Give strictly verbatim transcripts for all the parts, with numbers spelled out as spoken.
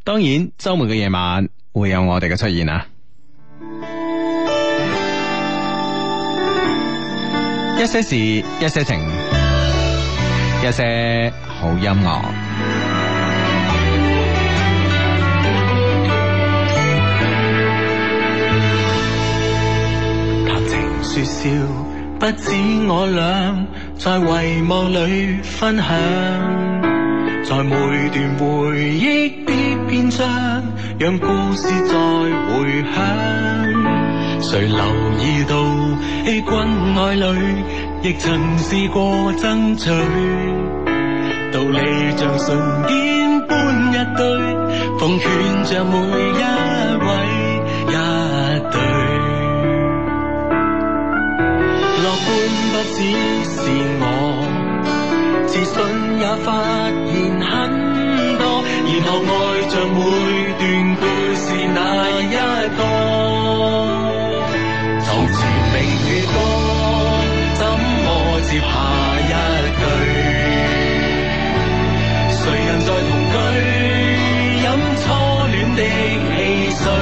當然周末嘅夜晚會有我哋嘅出現啊！一些事，一些情，一些好音樂。 談情說笑，不止我倆在遺忘裏分享，在每段回憶的篇章，讓故事再回響。誰留意到欺君愛侶，亦曾試過爭取，道理像信件般一堆，奉勸着每一位一對。樂觀不只是我，自信也發現很多，然後愛着每段故事那一個。從前明月光，怎麼接下一句？誰人在同居，飲初戀的汽水？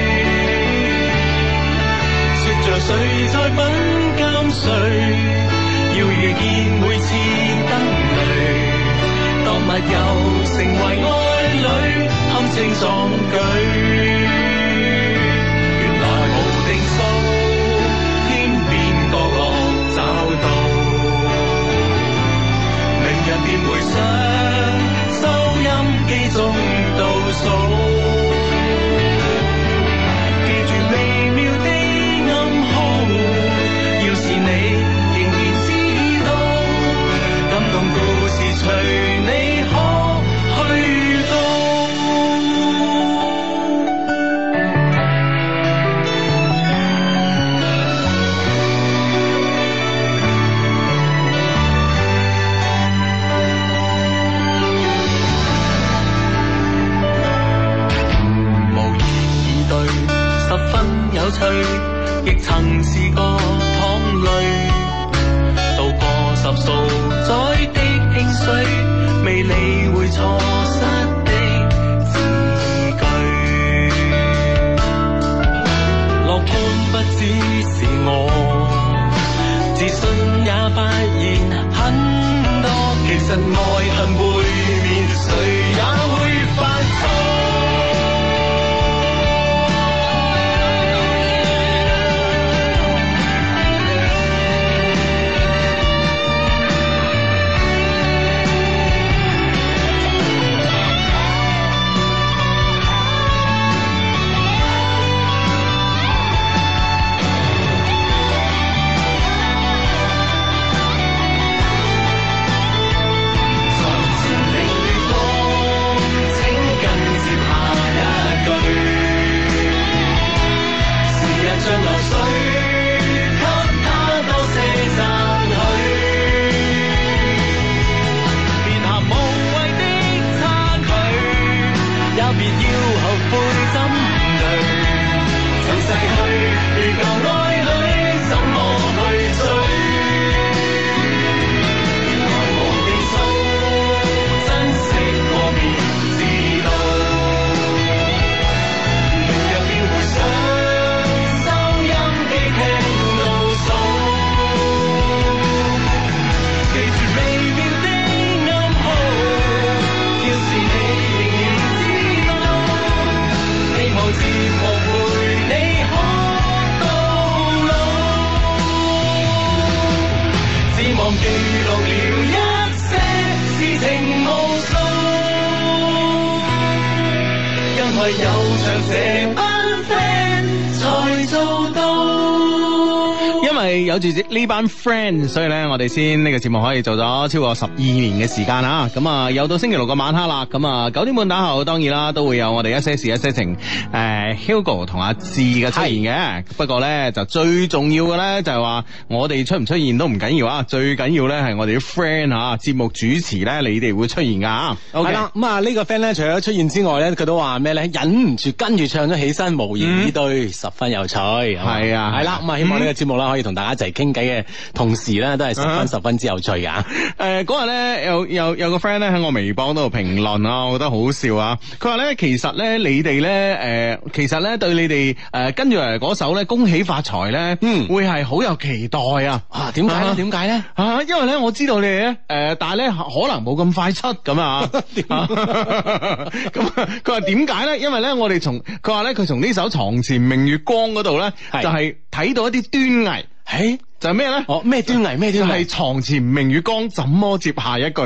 說着誰在品鑑誰？要遇見每次燈淚，當密友成為愛侶，堪稱壯舉。原來無定數，天邊角落找到，明日便回想，收音機中倒數，記住微妙的暗號，要是你仍然知道，感動故事隨你可去到。有趣，亦曾試過淌淚，渡過十數載的興衰，未理會錯失的字句。樂觀不只是我，自信也發現很多，其實愛恨背面，誰也會犯錯。 有住呢班 friend， 所以咧我哋先呢個節目可以做咗超過十二年嘅時間啦。咁啊，又到星期六嘅晚黑啦。咁啊，九點半打後，當然啦，都會有我哋一些事一些情，誒、呃、Hugo 同阿志嘅出現嘅。不過咧，就最重要嘅咧就係話，我哋出唔出現都唔緊要啊。最緊要咧係我哋啲 friend 吓，節目主持咧，你哋會出現噶。 係啦，咁啊呢個 friend 咧，除咗出現之外咧，佢都話咩咧？忍唔住跟住唱咗起身，無言以對，嗯、十分有趣。係啊， 係啦。咁啊，希望呢個節目啦，可以同大家一齊傾偈嘅同時咧，都係十分、uh-huh. 十分之有趣噶。 誒嗰日咧有有有個 friend 咧喺我微博度評論啊，我覺得好笑啊。佢話咧其實咧你哋咧誒其實咧對你哋誒、呃、跟住嚟嗰首咧恭喜發財咧，嗯，會係好有期待啊。啊，點解咧？點解咧？啊，因為咧我知道你哋咧誒，但係咧可能冇咁快出咁啊。咁佢話點解咧？因為咧我哋從佢話咧佢從呢首床前明月光嗰度咧，就係、是、睇到一啲端倪。誒，就係咩咧？哦，咩端倪？咩端倪？係床前明月光，怎麼接下一句？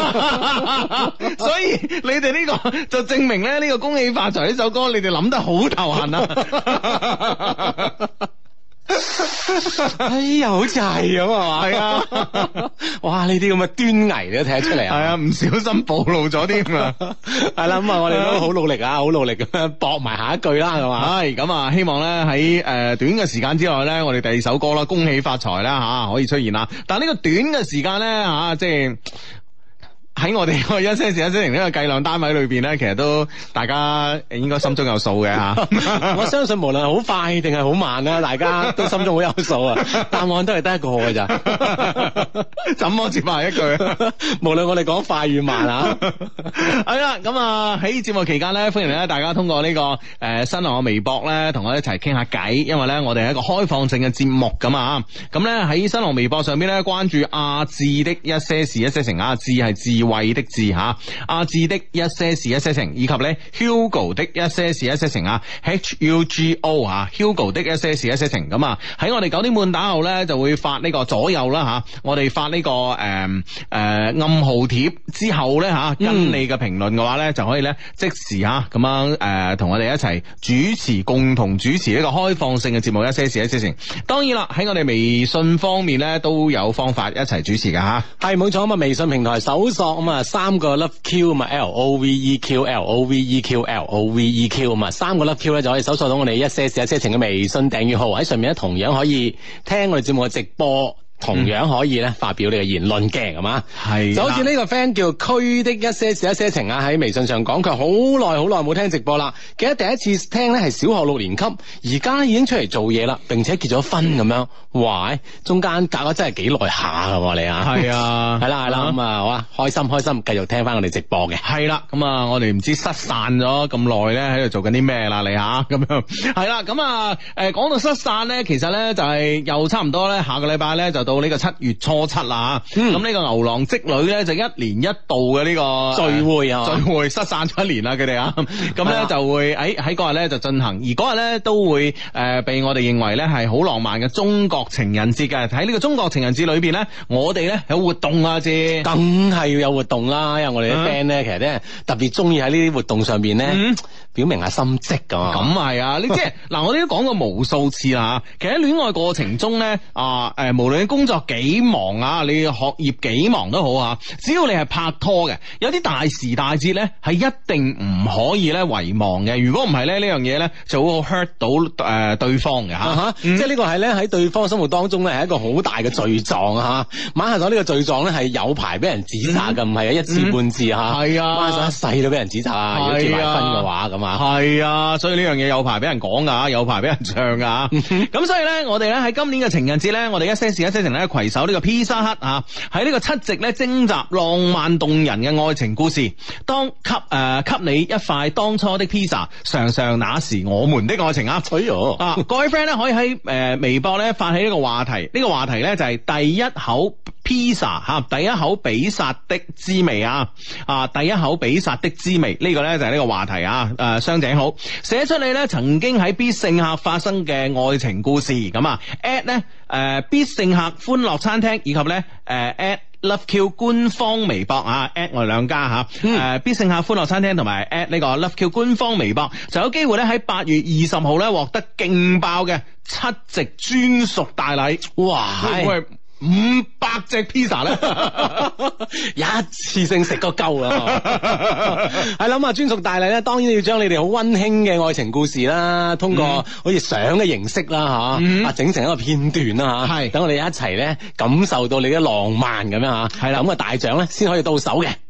所以你哋呢、這個就證明咧，呢、這個恭喜發財呢首歌，你哋諗得好頭痕啊！ 哎呀，好似係咁啊嘛，係啊，哇！呢啲咁嘅端倪你都睇得出嚟啊， 係啊，唔小心暴露咗添啊， 係啦，咁啊，我哋都好努力啊，好努力咁樣搏埋下一句啦，係嘛， 係咁啊，希望咧喺誒短嘅時間之內咧，我哋第二首歌啦，恭喜發財啦吓，可以出現啦，但係呢個短嘅時間咧吓，即係。喺我哋個一些事一些情呢個計量單位裏邊咧，其實都大家應該心中有數嘅吓。 我相信無論好快定係好慢啦，大家都心中好有數啊。答案都係得一個嘅咋。 怎麼接埋一句？ 無論我哋講快與慢啊。 係啦，咁啊喺節目期間咧，歡迎咧大家通過呢、這個誒、呃、新浪嘅微博咧，同我一齊傾下偈。因為咧我哋係一個開放性嘅節目咁啊。咁咧喺新浪微博上邊咧，關注阿志的一些事一些情，阿志係智慧的智吓，阿志的一些事一些情，以及咧 Hugo 的一些事一些情啊 ，H U G O 啊 ，Hugo 的一些事一些情。咁啊喺我哋九點半打後咧，就會發呢個左右啦吓，我哋發呢、這個誒誒、呃呃、暗號貼之後咧吓，跟你嘅評論嘅話咧，就可以咧即時吓咁樣誒同、呃、我哋一齊主持，共同主持呢個開放性嘅節目一些事一些情。當然啦，喺我哋微信方面咧都有方法一齊主持噶吓， 係冇錯咁啊！微信平台搜索咁啊三個 Love Q 咁啊 L O V E Q L O V E Q L O V E Q 咁啊三個 Love Q 咧就可以搜索到我哋一些事一些情嘅微信訂閱號，喺上面咧同樣可以聽我哋節目嘅直播。同樣可以咧發表你嘅言論嘅，係嘛？係就好似呢個 friend 叫區的一些事一些情啊，喺微信上講佢好耐好耐冇聽直播啦，記得第一次聽咧係小學六年級，而家已經出嚟做嘢啦，並且結咗婚咁樣，哇！中間隔咗真係幾耐下噶喎你啊？係啊，係啦係啦，咁啊好啊，開心開心，繼續聽翻我哋直播嘅。係啦，咁啊我哋唔知失散咗咁耐咧喺度做緊啲咩啦你吓咁樣。係啦，咁啊誒講到失散咧，其實咧就係又差唔多咧，下個禮拜咧就到呢個七月初七啦，咁、嗯、呢個牛郎織女咧就一年一度嘅呢個聚會啊，聚會失散咗一年啦佢哋啊，咁咧就會喺喺嗰日咧就進行，而嗰日咧都會誒、呃、被我哋認為咧係好浪漫嘅中國情人節嘅。喺呢個中國情人節裏邊咧，我哋咧有活動啊，啫，梗係要有活動啦，因為我哋啲 friend 咧其實咧特別中意喺呢啲活動上邊咧、嗯、表明下心跡噶嘛。咁係啊，你即係嗱，我哋都講過無數次啦，其實喺戀愛過程中咧啊誒，無論工作幾忙啊，你學業幾忙都好啊，只要你係拍拖嘅，有啲大時大節咧係一定唔可以咧遺忘嘅。如果唔係咧，呢樣嘢咧就會 hurt 到誒、呃、對方嘅吓、啊嗯，即係呢個係咧喺對方生活當中咧係一個好大嘅罪狀啊吓。馬下咗呢個罪狀咧係有排俾人指責嘅，唔係啊一次半次吓。係啊，馬上一世都俾人指責啊。如果結埋婚嘅話咁啊，係啊，所以呢樣嘢有排俾人講噶，有排俾人唱噶。咁所以咧，我哋咧喺今年嘅情人節咧，我哋一些事一些情咧攜手呢個披薩克啊，喺呢個七夕咧徵集浪漫動人嘅愛情故事，當給誒、呃、給你一塊當初的披薩，嘗嘗那時我們的愛情啊！哎喲啊，各位 friend 咧可以喺誒、呃、微博咧發起呢個話題，呢、這個話題咧就係、是、第一口披薩吓，第一口比薩的滋味啊！啊，第一口比薩的滋味，呢、這個咧就係呢個話題啊！誒，雙井好，寫出你咧曾經喺必勝客發生嘅愛情故事，咁啊 at 咧誒必勝客歡樂餐廳以及咧誒 at Love Q 官方微博啊 at 我哋兩家吓，誒、嗯呃、必勝客歡樂餐廳同埋 at 呢個 Love Q 官方微博就有機會咧喺八月二十號咧獲得勁爆嘅七夕專屬大禮，哇！係五百隻披薩咧，一次性食個夠啊！係諗啊，專屬大禮咧，當然要將你哋好溫馨嘅愛情故事啦，通過好似相嘅形式啦，吓、嗯、啊，整成一個片段啦，吓，係等我哋一齊咧感受到你嘅浪漫咁樣吓，係啦，咁啊大獎咧先可以到手嘅。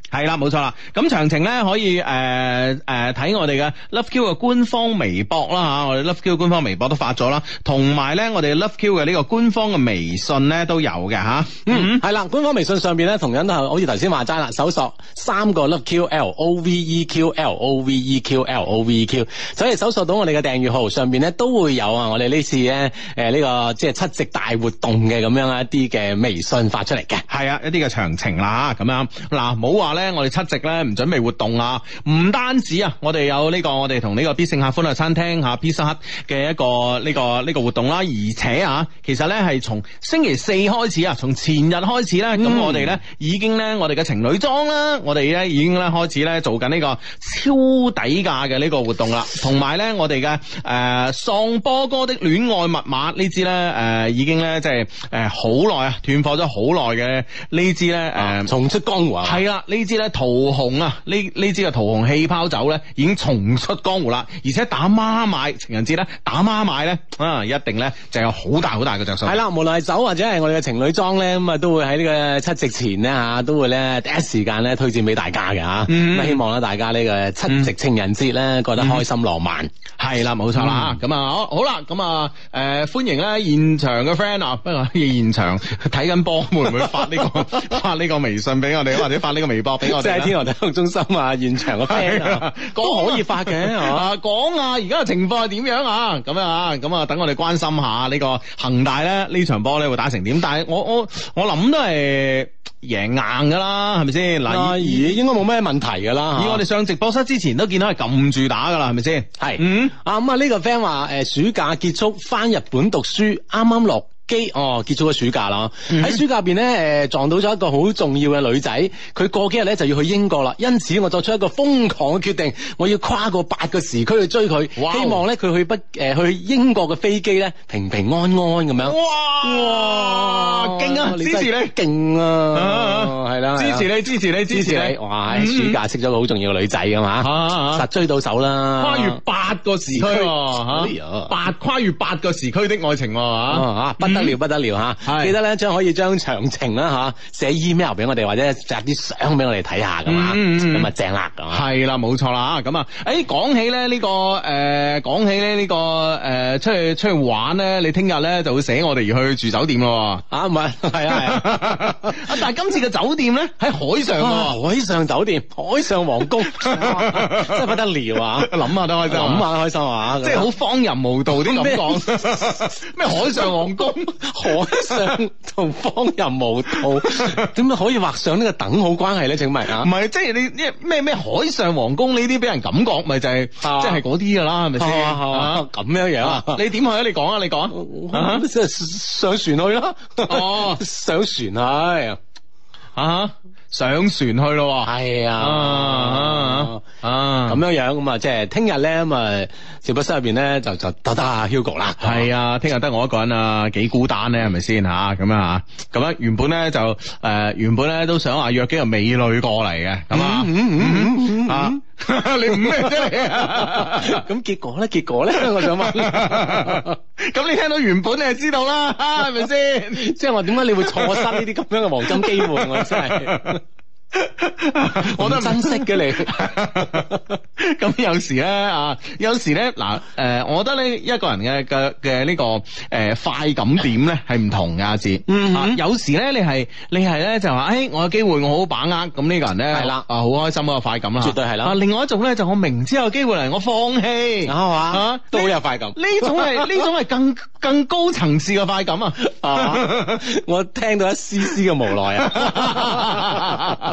係啦，冇錯啦。咁詳情咧可以誒誒睇我哋嘅 Love Q 嘅官方微博啦吓，我哋 Love Q 官方微博都發咗啦，同埋咧我哋 Love Q 嘅呢個官方嘅微信咧都有嘅吓。 嗯，係啦，官方微信上邊咧同樣都係好似頭先話齋啦，搜索三個 Love Q L O V E Q L O V E Q L O V E Q， 就可以搜索到我哋嘅訂閱號，上邊咧都會有啊，我哋呢次咧誒呢個即係七夕大活動嘅咁樣一啲嘅微信發出嚟嘅。 係啊，一啲嘅詳情啦咁樣。嗱，唔好話咧，我哋七夕咧唔準備活動啊，唔單止啊，我哋有呢個我哋同呢個必勝客歡樂餐廳吓 Pizza Hut 嘅一個呢個呢個活動啦，而且啊，其實咧係從星期四開始啊，從前日開始咧，咁、嗯、我哋咧已經咧我哋嘅情侶裝啦，我哋咧已經咧開始咧做緊呢個超抵價嘅呢個活動啦，同埋咧我哋嘅誒喪波哥的戀愛密碼呢支咧誒已經咧即係誒好耐啊斷貨咗好耐嘅呢支咧誒重出江湖啊，係啦，呢支咧桃紅啊呢呢支嘅桃紅氣泡酒咧已經重出江湖啦，而且打孖買情人節咧打孖買咧啊一定咧就有好大好大嘅着數。係啦，無論係酒或者係我哋嘅情侶裝咧，咁啊都會喺呢個七夕前咧吓都會咧第一時間咧推薦俾大家嘅吓，咁、嗯、希望咧大家呢個七夕情人節咧覺得開心浪漫。係、嗯、啦，冇錯啦，咁、嗯、啊好好啦，咁啊誒歡迎咧現場嘅 friend 啊，不過現場睇緊波會唔會發呢、這個發呢個微信俾我哋，或者發呢個微博俾我哋？即係天河體育中心啊，現場嘅 friend 啊，都可以發嘅，係嘛？講啊，而家嘅情況係點樣啊？咁樣啊，咁啊，等我哋關心下呢個恒大咧呢場波咧會打成點？但係我我我諗都係贏硬噶啦，係咪先？嗱，而應該冇咩問題噶啦。以我哋上直播室之前都見到係撳住打噶啦，係咪先？係，嗯，啊咁啊呢個 friend 話誒暑假結束翻日本讀書，啱啱落機哦，結束咗暑假啦。喺、嗯、暑假入邊咧，誒撞到咗一個好重要嘅女仔，佢過幾日咧就要去英國啦。因此我作出一個瘋狂嘅決定，我要跨過八個時區去追佢，希望咧佢去不誒、呃、去英國嘅飛機咧平平安安咁樣。哇哇，勁啊！支持你，勁啊！係啦，支持你，支持你，支持你。哇！喺暑假識咗個好重要嘅女仔噶嘛，實追到手啦。跨越八個時區，吓八跨越八個時區的愛情，吓不得了不得了吓！記得咧將可以將詳情啦吓寫 email 俾我哋，或者摘啲相俾我哋睇下噶嘛，咁啊正啦，係啦冇錯啦咁啊！誒講起咧呢個誒講起咧呢個誒出去出去玩咧，你聽日咧就會寫我哋而去住酒店咯，啊唔係係啊係啊！但係今次嘅酒店咧喺海上喎，海上酒店，海上皇宮，真係不得了啊！諗下都開心，諗下都開心啊！即係好荒淫無道啲咁講，咩海上皇宮？海上同荒淫無道，點解可以畫上呢個等號關係咧？請問啊，唔係即係你咩咩海上皇宮呢啲俾人感覺咪就係即係嗰啲噶啦，係咪先？咁樣樣啊？你點去啊？你講啊！你講，即係上船去啦。哦，上船去啊！上船去咯，係啊啊啊咁樣樣咁啊，即係聽日咧咁啊，直播室入邊咧就就得得阿 Hugo 啦，係啊，聽日得我一個人啊，幾孤單咧，係咪先吓？咁樣吓，咁樣原本咧就誒、呃，原本咧都想話約幾個美女過嚟嘅，咁啊，啊，你唔咩啫你啊？咁結果咧？結果咧？我想問，咁你聽到原本你就知道啦，係咪先？即係話點解你會錯失呢啲咁樣嘅黃金機會？我真係。我都珍惜嘅你，咁有時咧啊，有時咧嗱，誒，我覺得咧一個人嘅嘅嘅呢個誒、呃、快感點咧係唔同嘅阿志，嗯啊，有時咧你係你係咧就話，誒、哎，我有機會我好把握，咁呢個人咧係啦，啊，好開心嗰個快感啦，絕對係啦。啊，另外一種咧就我明知有機會嚟，我放棄，係嘛，啊，都好有快感。呢種係呢種係更更高層次嘅快感啊！啊，我聽到一絲絲嘅無奈啊！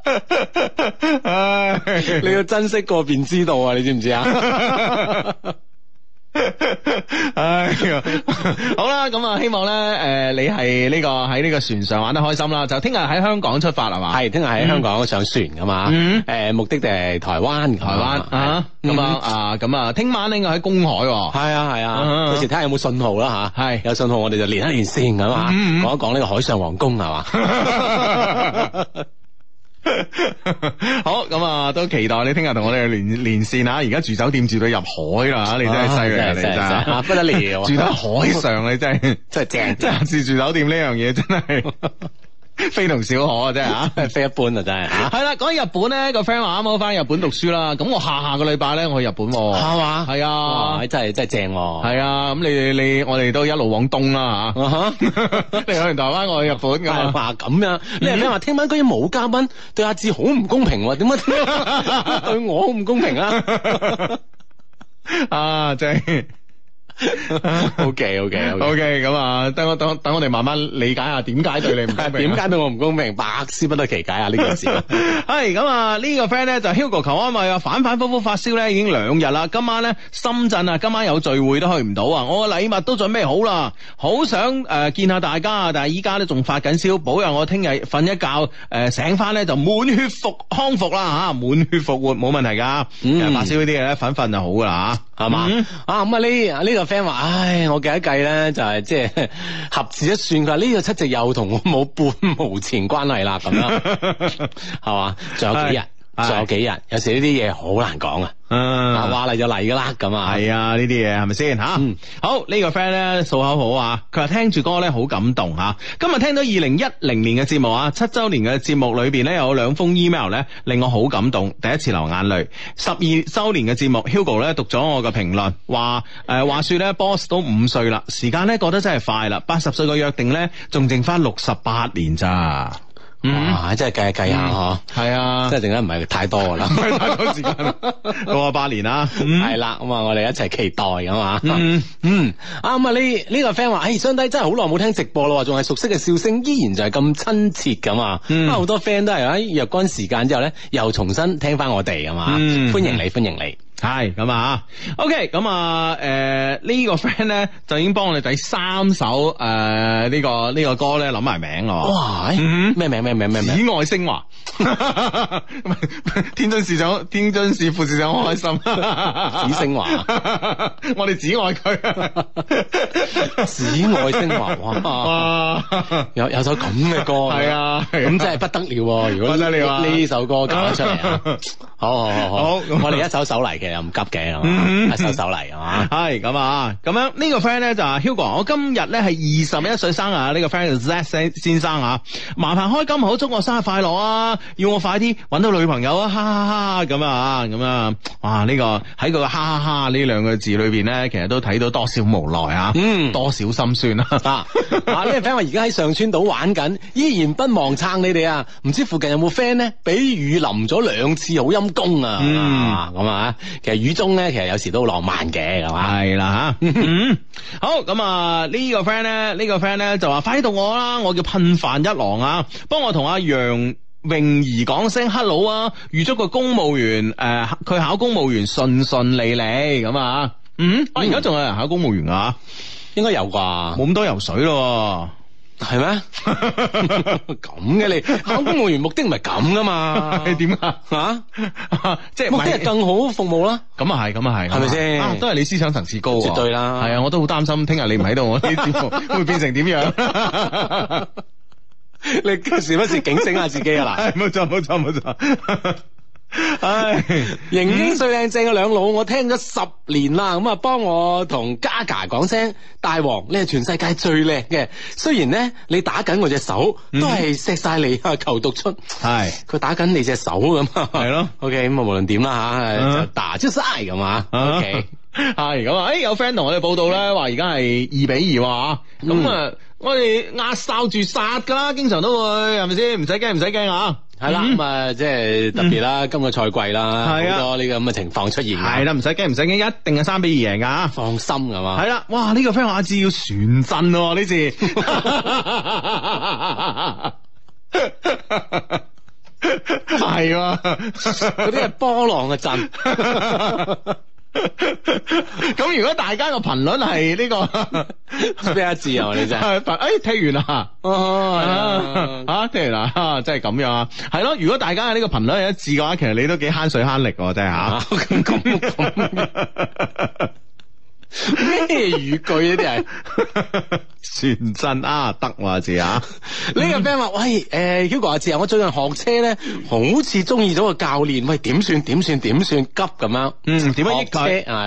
唉，你要珍惜過便知道啊！你知唔知啊？唉，好啦，咁啊，希望咧，誒、呃，你係呢、這個喺呢個船上玩得開心啦。就聽日喺香港出發係嘛？係，聽日喺香港上船噶嘛？誒、嗯呃，目的地係台灣，台灣啊，咁啊，啊，咁啊，聽晚應該喺公海。係啊，係啊，到時睇下有冇信號啦吓。係，有信號我哋就連一連線咁啊，講一講呢個海上皇宮係嘛。好，咁啊，都期待你聽日同我哋連連線啊！而家住酒店住到入海啦，你真係犀利啊！你真係不得了，住到海上你真係真係正，真係住住酒店呢樣嘢真係。 非同小可啊，真係啊！ 非一般啊，真係嚇。 係啦，講起日本咧，個 friend 話啱好翻日本讀書啦，咁我下下個禮拜咧我去日本喎， 係嘛？ 係啊， 哇！真係真係正喎。 係啊，咁你你我哋都一路往東啦嚇，你去完台灣，我去日本咁啊， 話咁樣，你係咩話？聽晚居然冇嘉賓，對阿志好唔公平喎？點解對我好唔公平啊？ 啊，真係。 O K O K O K 咁啊，等我等等我哋慢慢理解下點解對你唔公平， 點解對我唔公平，百思不得其解啊！呢件事係咁啊，呢個 friend 咧就 Hugo 求安慰啊，反反复复發燒咧已經兩日啦，今晚咧深圳啊，今晚有聚會都去唔到啊，我個禮物都準備好啦，好想誒、呃、見下大家啊，但係依家咧仲發緊燒，保佑我聽日瞓一覺誒、呃、醒翻咧就滿血復康復啦吓，滿血復活冇問題噶，嗯、其實發燒呢啲嘢咧瞓瞓就好噶啦吓，係嘛、嗯、 啊咁啊呢呢個 friend 話，唉，我計一計咧就係即係合字一算，佢話呢個七夕又同我冇半毛錢關係啦，咁樣係嘛？仲有幾日？仲有幾日？有時呢啲嘢好難講啊！啊，話嚟就嚟噶啦，咁啊， 係啊，呢啲嘢係咪先吓？嗯、好、這個、呢個 friend 咧數口好啊，佢話聽住歌咧好感動吓。今日聽到二零一零年嘅節目啊，七周年嘅節目裏邊咧有兩封 email 咧令我好感動，第一次流眼淚。十二周年嘅節目 Hugo 咧讀咗我嘅評論，話誒話說咧 boss 都五歲啦，時間咧過得真係快啦，八十歲嘅約定咧仲剩翻六十八年咋。 哇！真係計下計下嗬，係啊，真係剩得唔係太多噶啦， 唔係太多時間，六十八年啦， 係啦，咁啊，我哋一齊期待咁嘛，嗯嗯，啊咁啊呢呢個 friend 話，誒，兄弟真係好耐冇聽直播咯，仲係熟悉嘅笑聲，依然就係咁親切咁啊，啊好多 friend 都係喺若干時間之後咧，又重新聽翻我哋啊嘛，歡迎你，歡迎你。 係咁啊 ，OK，咁啊，誒、呃這個、呢個 friend 咧就已經幫我哋第三首誒呢、呃這個呢、這個歌咧諗埋名咯。哇，咩、嗯、名咩名咩名？紫外升華，天津市長，天津市副市長好開心。 紫升華， 我哋紫外佢。 紫外升華，哇！有有首咁嘅歌， 係啊， 咁真係不得了。如果呢首歌搞得出嚟啊，好好好好，好我哋一首首嚟嘅。又唔急嘅，係嘛？一首首嚟，係嘛？係咁啊！咁樣呢個 friend 咧就係 Hugo，我今日咧係二十一歲生日，呢、這個 friend 叫 Z 先生啊，麻煩開金口祝我生日快樂啊！要我快啲搵到女朋友啊！哈哈哈！咁啊，咁啊，哇！呢、這個喺個哈哈哈呢兩個字裏邊咧，其實都睇到多少無奈啊，嗯，多少心酸啊！啊，呢個 friend 話而家喺上川島玩緊，依然不忘撐你哋啊！唔知附近有冇 friend 咧？俾雨淋咗兩次，好陰功啊！嗯，咁啊。其實雨中咧，其實有時都好浪漫嘅，係嘛？係啦吓，好咁啊！呢個 friend 咧，呢個 friend 咧就話快啲到我啦，我叫噴飯一郎啊，幫我同阿楊泳儀講聲 hello 啊，預祝個公務員誒，佢、呃、考公務員順順利利咁啊！嗯，我而家仲有人考公務員啊？應該有啩，冇咁多游水咯。係咩？咁嘅你考公務員目的唔係咁噶嘛？係點啊？吓，即係目的係更好服務啦。咁啊係，咁啊係，係咪先？都係你思想層次高，絕對啦。係啊，我都好擔心聽日你唔喺度，我啲節目會變成點樣？你時不時警醒下自己啊！嗱，冇錯冇錯冇錯。唉，型英帥靚正嘅兩老，我聽咗十年啦，咁啊，幫我同 Gaga 講聲，大王你係全世界最靚嘅。雖然咧你打緊我隻手，都係錫晒你啊，求讀出。係佢打緊你隻手咁啊，係咯。OK，咁啊，無論點啦吓，就打出晒咁啊。OK，係咁啊。誒，有 friend 同我哋報道咧，話而家係二比二話，咁啊，我哋壓哨住殺噶啦，經常都會係咪先？唔使驚，唔使驚啊！係啦，咁啊，即係特別啦，今個賽季啦，好多呢個咁嘅情況出現。係啦，唔使驚，唔使驚，一定係三比二贏噶，放心㗎嘛。係啦，哇！呢個 friend 阿志要船震喎呢次，係喎，嗰啲係波浪嘅震。咁如果大家個頻率係呢個咩一致啊？你真係誒踢完啦，哦吓踢完啦，真係咁樣啊？係咯，如果大家嘅呢個頻率係一致嘅話，其實你都幾慳水慳力喎，真係吓。咁咁咁咩語句呢啲係船震啊？得話字啊？呢個 friend 話喂，誒 Hugo 阿志啊，我最近學車咧，好似中意咗個教練，喂點算點算點算急咁樣？嗯，點樣益佢？係啊。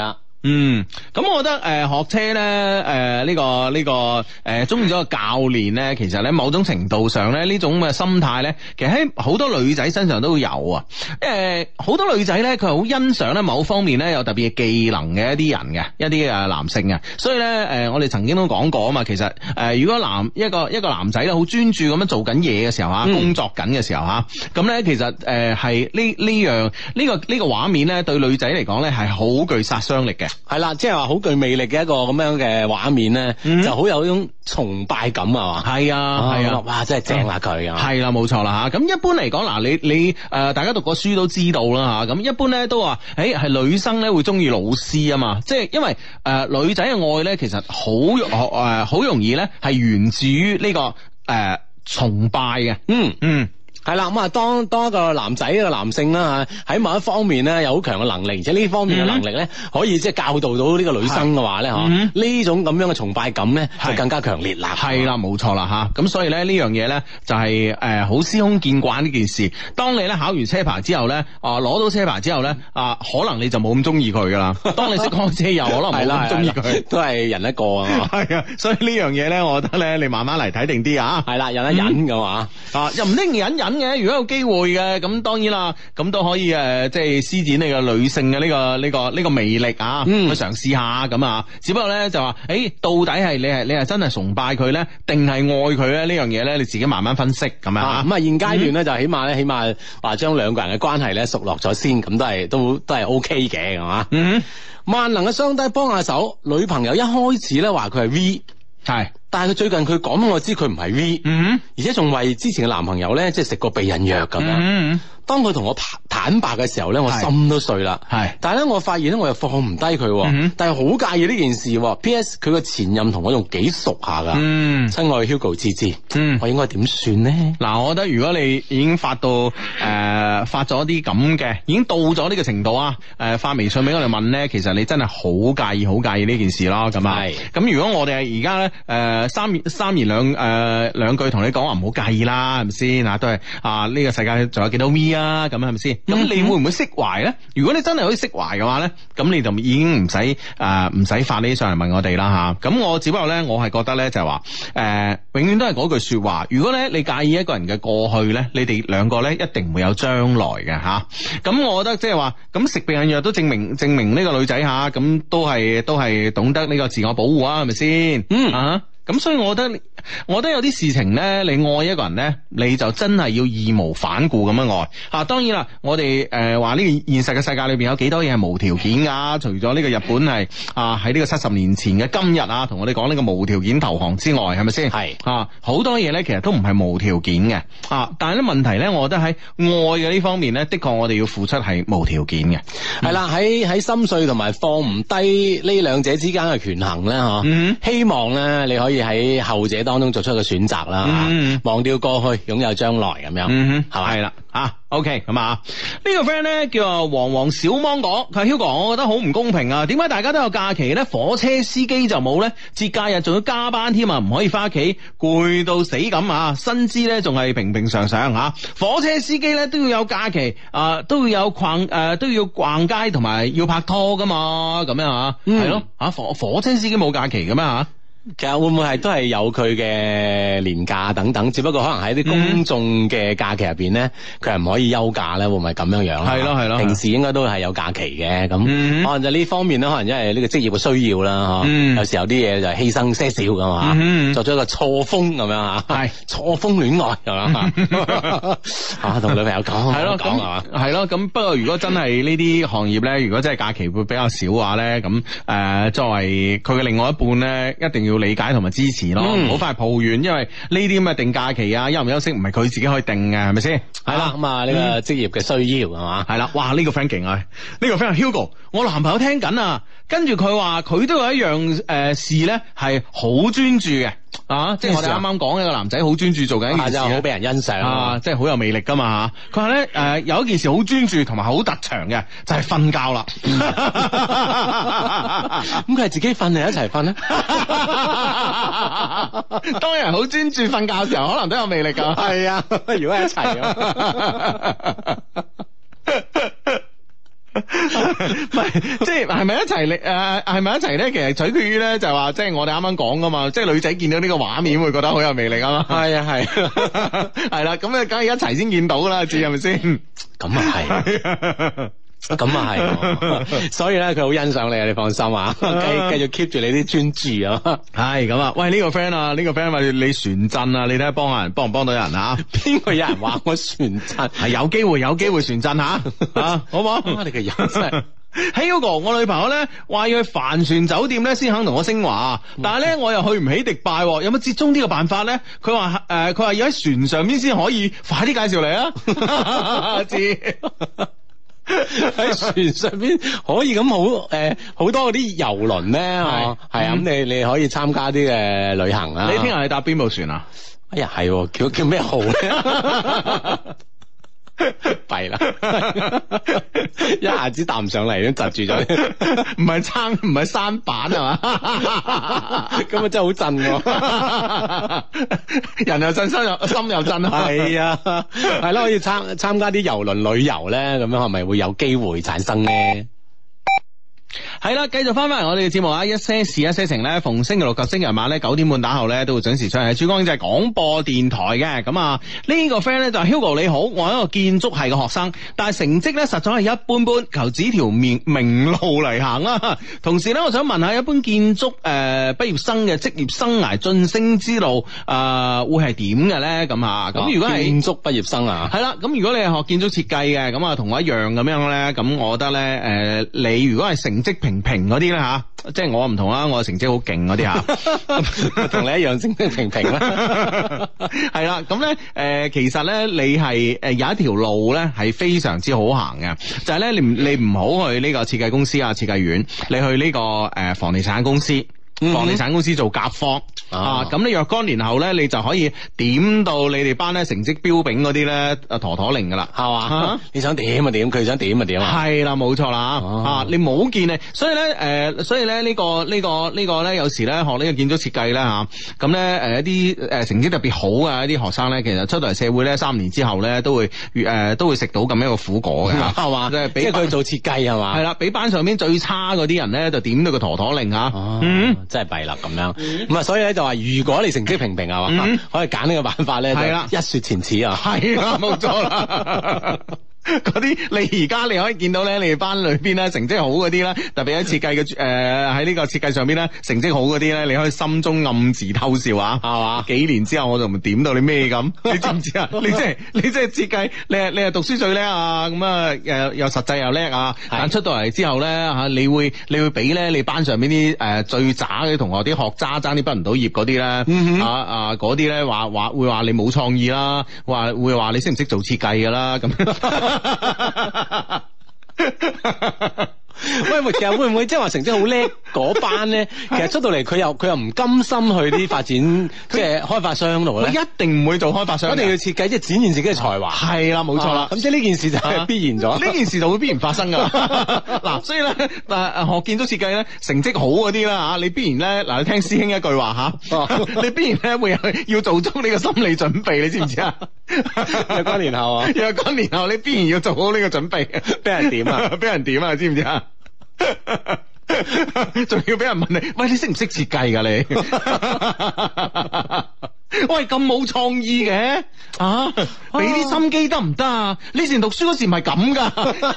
嗯，咁我覺得誒、呃、學車咧，誒、呃、呢、這個呢、這個誒中意咗個教練咧，其實咧某種程度上咧呢種嘅心態咧，其實喺好多女仔身上都會有啊。誒、呃，好多女仔咧，佢係好欣賞咧某方面咧有特別嘅技能嘅一啲人嘅，一啲誒男性嘅。所以咧，誒、呃、我哋曾經都講過啊嘛，其實誒、呃、如果男一個一個男仔咧好專注咁樣做緊嘢嘅時候啊，嗯、工作緊嘅時候吓，咁咧其實誒係呢呢樣呢個呢、這個畫面咧對女仔嚟講咧係好具殺傷力嘅。 係啦，即係話好具魅力嘅一個咁樣嘅畫面咧，嗯、就好有一種崇拜感啊嘛。 係啊，係啊， 哇，真係正啊佢啊。 係啦，冇錯啦吓。咁一般嚟講，嗱你你誒、呃，大家讀過書都知道啦吓。咁一般咧都話，誒、欸、係女生咧會中意老師啊嘛。即係因為誒、呃、女仔嘅愛咧，其實好誒好容易咧係源自於呢、這個誒、呃、崇拜嘅。嗯嗯。 係啦，咁啊，當當一個男仔一個男性啦吓，喺某一方面咧有好強嘅能力，而且呢方面嘅能力咧，可以即係教導到呢個女生嘅話咧，嗬，呢種咁樣嘅崇拜感咧就更加強烈啦。係啦， 冇錯啦吓，咁所以咧呢樣嘢咧就係誒好司空見慣呢件事。當你咧考完車牌之後咧，啊攞到車牌之後咧，啊可能你就冇咁中意佢噶啦。當你識開車又可能冇咁中意佢， 都係人一個啊。 係啊，所以呢樣嘢咧，我覺得咧你慢慢嚟睇定啲啊。 係啦，忍一忍嘅嘛，啊又唔一定忍忍。嘅，如果有機會嘅，咁當然啦，咁都可以誒，即係施展你個女性嘅呢個呢個呢個魅力啊，去嘗試下咁啊。只不過咧就話，誒，到底係你係你係真係崇拜佢咧，定係愛佢咧？呢樣嘢咧，你自己慢慢分析咁啊。 咁啊，現階段咧就起碼咧，起碼話將兩個人嘅關係咧熟落咗先，咁都係都都係 O K 嘅，係嘛？嗯，萬能嘅雙低幫下手，女朋友一開始咧話佢係 V， 係。但係佢最近佢講俾我知佢唔係 V， 嗯，而且仲為之前嘅男朋友咧即係食過避孕藥咁樣。嗯，當佢同我坦白嘅時候咧，我心都碎啦。係，但係咧我發現咧我又放唔低佢，嗯、但係好介意呢件事。P S 佢個前任同我仲幾熟下噶。嗯，親愛 Hugo 芝芝，嗯，我應該點算呢？嗱， 我覺得如果你已經發到誒、呃、發咗啲咁嘅，已經到咗呢個程度啊，誒、呃、發微信俾我哋問咧，其實你真係好介意好介意呢件事咯。咁啊，係。咁如果我哋而家咧誒。呃三言三言兩誒兩句同你講話唔好介意啦，係咪先啊？都係啊，呢個世界仲有幾多 V 啊？咁係咪先？咁、嗯、你會唔會釋懷咧？如果你真係可以釋懷嘅話咧，咁你就已經唔使誒唔使發呢啲上嚟問我哋啦吓。咁、啊、我只不過咧，我係覺得咧就係話誒，永遠都係嗰句說話。如果咧你介意一個人嘅過去咧，你哋兩個咧一定唔會有將來嘅吓。咁、啊、我覺得即係話，咁食避孕藥都證明證明呢個女仔吓，咁、啊、都係都係懂得呢個自我保護啊，係咪先？嗯啊。咁所以我覺得，我覺得有啲事情咧，你愛一個人咧，你就真係要義無反顧咁樣愛。啊，當然啦，我哋誒話呢個現實嘅世界裏邊有幾多嘢係無條件噶？除咗呢個日本係啊喺呢個七十年前嘅今日啊，同我哋講呢個無條件投降之外，係咪先？係啊，好多嘢咧，其實都唔係無條件嘅。啊，但係咧問題咧，我覺得喺愛嘅呢方面咧，的確我哋要付出係無條件嘅。係啦、嗯，喺喺心碎同埋放唔低呢兩者之間嘅權衡咧，嗬、嗯，希望咧你可以喺後者當中作出一個選擇啦，嗯、忘掉過去，擁有將來咁樣，係咪、嗯？係啦，啊 OK 咁啊，呢個 friend 咧叫啊黃黃小芒果，佢話 Hugo，我覺得好唔公平啊，點解大家都有假期咧，火車司機就冇咧？節假日仲要加班添啊，唔可以翻屋企，攰到死咁啊，薪資咧仲係平平常常吓，火車司機咧都要有假期啊，都要有逛誒、呃，都要逛街同埋要拍拖噶嘛，咁樣啊，係咯、嗯，啊火火車司機冇假期嘅咩吓？其實會唔會係都係有佢嘅年假等等，只不過可能喺啲公眾嘅假期入邊咧，佢係唔可以休假咧，會唔會咁樣樣？係咯係咯，平時應該都係有假期嘅，咁、嗯、可能就呢方面咧，可能因為呢個職業嘅需要啦，嗯、有時候啲嘢就犧牲些少噶嘛，嗯、作咗一個錯峰咁樣吓，係錯峰戀愛係嘛，啊同女朋友講係咯講係嘛，係咯咁。不過如果真係呢啲行業咧，如果真係假期會比較少嘅話咧，咁誒、呃、作為佢嘅另外一半咧，一定要理解同埋支持咯，唔好快抱怨，因為呢啲咁嘅定假期啊，休唔休息唔係佢自己可以定嘅，係咪先？係啦，咁啊呢個職業嘅需要係嘛？係啦，哇呢個 friend 勁啊，呢個 friend Hugo，我男朋友聽緊啊，跟住佢話佢都有一樣誒事咧係好專注嘅啊，即係我哋啱啱講一個男仔好專注做緊一件事，好俾人欣賞啊，即係好有魅力噶嘛吓。佢話咧誒有一件事好專注同埋好特長嘅，就係瞓覺啦。咁佢係自己瞓定一齊瞓咧？當人好專注瞓覺嘅時候，可能都有魅力噶。係啊，如果係一齊啊。 唔係，即係係咪一齊嚟？誒，係咪一齊咧？其實取決於咧，就係話，即係我哋啱啱講噶嘛，即係女仔見到呢個畫面會覺得好有魅力啊嘛。 係啊係， 係啦，咁啊，梗係一齊先見到啦，知係咪先？ 咁啊係。咁啊係，所以咧佢好欣賞你啊，你放心啊，繼繼續 keep 住你啲專注啊。 係咁啊，喂呢、這個 friend 啊，呢、這個 friend 話你船震啊，你睇下幫下人，幫唔幫到人啊？ 邊個有人話我船震？ 係有機會，有機會船震吓啊，好唔好？ 你嘅人真係。 喺嗰個我女朋友咧話要去帆船酒店咧先肯同我升華，但係咧我又去唔起迪拜，有冇折中呢個辦法咧？佢話誒，佢話要喺船上邊先可以，快啲介紹嚟啊！知。 喺船上邊可以咁好誒，好多嗰啲遊輪咧，係啊，咁你你可以參加啲嘅旅行啊。 你聽日係搭邊部船啊？ 哎呀，係叫叫咩號咧？弊啦，一下子搭唔上嚟，都窒住咗。 唔係撐，唔係舢板係嘛？ 咁啊真係好震喎， 人又震，心又心又震。 係啊，係咯，可以參參加啲遊輪旅遊咧，咁樣係咪會有機會產生咧？ 係啦，繼續翻翻嚟我哋嘅節目啊！一些事一些情咧，逢星期六及星期日晚咧九點半打後咧都會準時出嚟。珠江經濟廣播電台嘅咁啊，呢個 friend 咧就係 Hugo 你好，我係一個建築系嘅學生，但係成績咧實在係一般般，求指條明明路嚟行啦。同時咧，我想問下一般建築誒畢業生嘅職業生涯晉升之路誒、呃、會係點嘅咧？咁啊，咁如果係建築畢業生啊， 係啦，咁如果你係學建築設計嘅，咁啊同我一樣咁樣咧，咁我覺得咧誒、呃，你如果係成績平平嗰啲咧吓，即係我唔同啦，我成績好勁嗰啲吓， 同你一樣成績平平啦。 係啦，咁咧誒，其實咧你係誒有一條路咧係非常之好行嘅，就係、是、咧你你唔好去呢個設計公司啊、設計院，你去呢個誒房地產公司。房地產公司做甲方、嗯、啊，咁你若干年後咧，你就可以點到你哋班咧成績標炳嗰啲咧，啊妥妥零噶啦，係嘛？啊、你想點就點，佢想點就點啊？係啦，冇錯啦，啊，你冇見你，所以咧，誒、呃，所以咧呢、這個呢、這個呢、這個咧，有時咧學呢個建築設計咧吓，咁咧誒一啲誒成績特別好嘅一啲學生咧，其實出到嚟社會咧，三年之後咧都會誒、呃、都會食到咁樣一個苦果嘅，係嘛？即係即係佢做設計係嘛？係啦，比班上邊最差嗰啲人咧，就點到個妥妥零吓，啊、嗯。真係弊啦咁樣，咁啊、嗯、所以咧就話如果你成績平平啊嘛，嗯、可以揀呢個辦法咧，係啦，一雪前恥啊，係啦，冇錯啦。嗰啲你而家你可以見到咧，你哋班裏邊咧成績好嗰啲咧，特別喺設計嘅誒喺呢個設計上邊咧成績好嗰啲咧，你可以心中暗自偷笑啊，係嘛？幾年之後我就唔點到你咩咁，你知唔知啊？你即係你即係設計，你係你係讀書最叻啊，咁啊誒又實際又叻啊，但出到嚟之後咧吓，你會你會俾咧你班上邊啲誒最渣嘅同學啲學渣爭啲畢唔到業嗰啲咧，啊啊嗰啲咧話話會話你冇創意啦，話會話你識唔識做設計噶啦咁。 喂，其實會唔會即係話成績好叻嗰班咧？其實出到嚟佢又佢又唔甘心去啲發展即係開發商度咧，一定唔會做開發商，一定要設計即係展現自己嘅才華。係啦，冇錯啦。咁即係呢件事就係必然咗，呢件事就會必然發生噶。嗱，所以咧，誒學建築設計咧，成績好嗰啲啦吓，你必然咧嗱，你聽師兄一句話吓，你必然咧會要做足呢個心理準備，你知唔知啊？若干年後啊，若干年後你必然要做好呢個準備，俾人點啊？俾人點啊？知唔知啊？仲要俾人問你，喂，你識唔識設計噶你？喂，咁冇創意嘅啊！俾啲心機得唔得啊？你以前讀書嗰時唔係咁噶。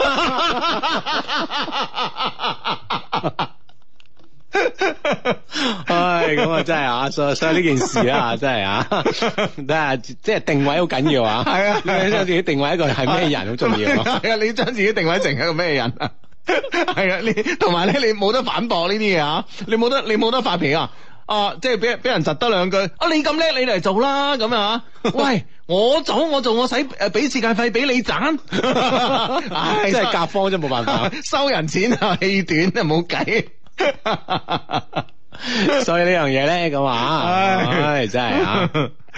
唉，咁啊真係啊，所以所以呢件事啊，真係啊，睇下即係定位好緊要啊。係啊，你將自己定位一個係咩人好重要。係啊，你將自己定位成一個咩人啊？係啊，你同埋咧，你冇得反駁呢啲嘢啊！你冇得，你冇得發脾啊！啊，即係俾俾人窒得兩句啊！你咁叻，你嚟做啦咁啊！喂，我做我做，我使誒俾設計費俾你賺，唉，真係甲方真冇辦法，收人錢啊，氣短啊，冇計。所以呢樣嘢咧咁啊，唉，真係啊。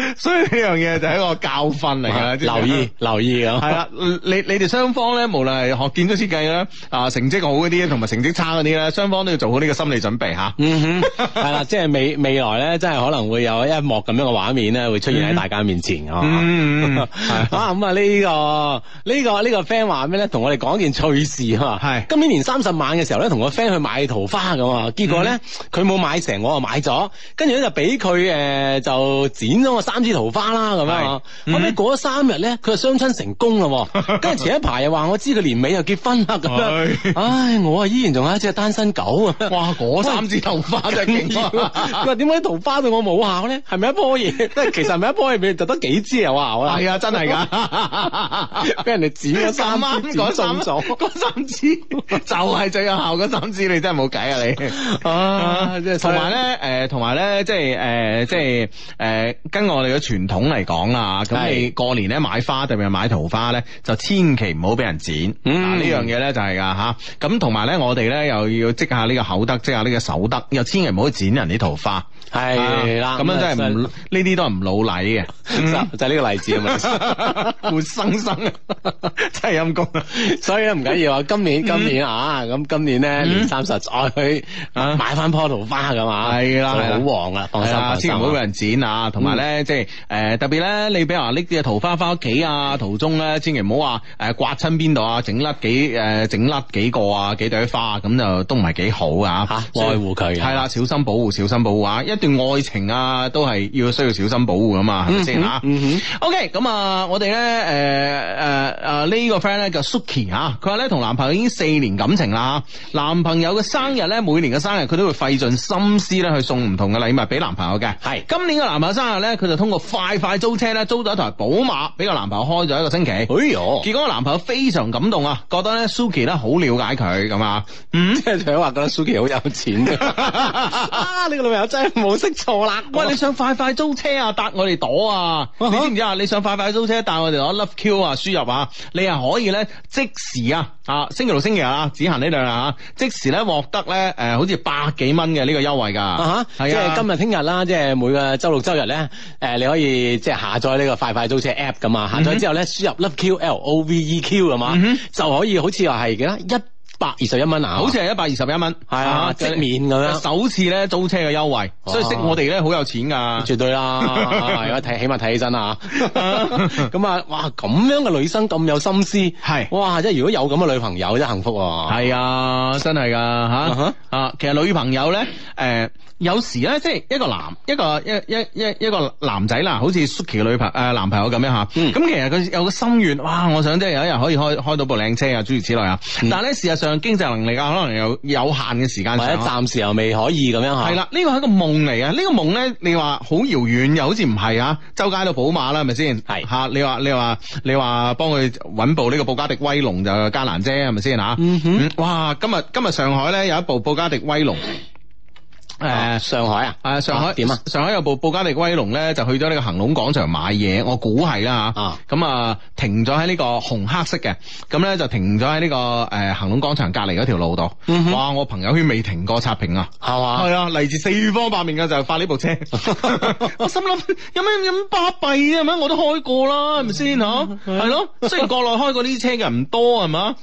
所以呢樣嘢就係一個教訓嚟㗎，知唔知留意留意咁。 係啦，你你哋雙方咧，無論係學建築設計啦，啊成績好嗰啲，同埋成績差嗰啲咧，雙方都要做好呢個心理準備吓。 嗯哼，係啦，即係未未來咧，真係可能會有一幕咁樣嘅畫面咧，會出現喺大家面前啊。 嗯， 啊咁啊呢個呢個呢個 friend 話咩咧？同我哋講一件趣事啊嘛。 係今年年三十晚嘅時候咧，同個 friend 去買桃花咁啊，結果咧佢冇買成，我啊買咗，跟住咧就俾佢誒就剪咗我三支桃花啦咁樣。後尾過咗三日咧，佢就相親成功啦。跟住前一排又話我知佢年尾又結婚啦咁樣。唉，我啊依然仲係一隻單身狗啊！ 哇，嗰三支桃花真係勁啊！ 佢話點解桃花對我冇效咧？係咪一棵嘢？即係其實係咪一棵嘢就得幾支有效啦？ 係啊，真係噶， 俾人哋剪咗三啱支， 嗰剪中咗嗰三支就係最有效嗰三支，你真係冇計啊你！ 啊，即係同埋咧，誒，同埋咧，即係誒，即係誒，跟我哋嘅傳統嚟講啦，咁你過年咧買花，特別係買桃花咧，就千祈唔好俾人剪。嗯，呢樣嘢咧就係噶吓。咁同埋咧，我哋咧又要積下呢個口德，積下呢個手德，又千祈唔好剪人啲桃花。 係啦， 咁樣真係唔呢啲都係唔老禮嘅， 就就係呢個例子啊嘛， 活生生真係陰公啊！ 所以咧唔緊要啊，今年今年啊，咁今年咧年三十再去買翻棵桃花咁啊， 係啦， 好旺啊，放心放心， 千祈唔好俾人剪啊！同埋咧，即係誒特別咧，你比如話拎啲桃花翻屋企啊，途中咧千祈唔好話誒刮親邊度啊，整甩幾誒整甩幾個啊幾朵花咁就都唔係幾好啊！ 嚇，愛護佢係啦，小心保護，小心保護啊！一段愛情啊，都係要需要小心保護噶嘛，係咪先吓？OK，咁啊，我哋咧誒誒誒呢個 friend 咧叫 Suki 吓，佢話咧同男朋友已經四年感情啦，男朋友嘅生日咧，每年嘅生日佢都會費盡心思咧去送唔同嘅禮物俾男朋友嘅。係今年嘅男朋友生日咧，佢就通過快快租車咧租咗一台寶馬俾個男朋友開咗一個星期。哎喲，結果個男朋友非常感動啊，覺得咧 Suki 咧好了解佢咁啊，嗯，即係想話覺得 Suki 好有錢啊！呢個女朋友真係冇識錯啦。喂，你想快快租車啊？搭我哋朵啊？你知唔知啊？你想快快租車帶我哋攞 Love Q 啊輸入啊，你係可以咧即時啊啊星期六星期日啊只行呢兩日啊，即時咧獲得咧誒、呃、好似百幾蚊嘅呢個優惠噶。啊哈，係啊，即係今日聽日啦，即係每個周六周日咧誒、呃、你可以即係下載呢個快快租車 app 噶嘛，下載之後咧輸入 Love Q L O V E Q 噶嘛，嗯、就可以好似話係幾多一百二十一蚊啊，好似係一百二十一蚊，係啊，即免咁樣，首次咧租車嘅優惠，所以識我哋咧好有錢噶，絕對啦，係啊，睇起碼睇起身啊，咁啊，哇，咁樣嘅女生咁有心思，係，哇，即係如果有咁嘅女朋友真係幸福喎，係啊，真係噶吓，啊，其實女朋友咧，誒，有時咧，即係一個男，一個一一一一個男仔啦，好似 Suki 嘅女朋誒男朋友咁樣吓，咁其實佢有個心願，哇，我想即係有一日可以開開到部靚車啊，諸如此類啊，但係咧事實上。經濟能力啊，可能有有限嘅時間，或者暫時又未可以咁樣吓。係啦，呢個係一個夢嚟嘅。呢、這個夢咧，你話好遙遠，又好似唔係啊。周街都寶馬啦，係咪先？係吓，你話你話你話幫佢搵部呢個布加迪威龍就艱難啫，係咪先吓？嗯哼，嗯哇，今日今日上海咧有一部布加迪威龍。誒、呃，上海啊，誒、呃，上海點啊？上海有部布加迪威龍咧，就去咗呢個恒隆廣場買嘢，我估係啦吓。啊，咁啊，停咗喺呢個紅黑色嘅，咁咧就停咗喺呢個誒恒隆廣場隔籬嗰條路度。嗯、哼哇，我朋友圈未停過刷屏啊，係嘛？係啊，嚟自四方八面嘅就發呢部車。我心諗有咩咁巴閉啫？係咪？我都開過啦，係咪先吓？係咯，雖然國內開過呢啲車嘅人唔多，係嘛？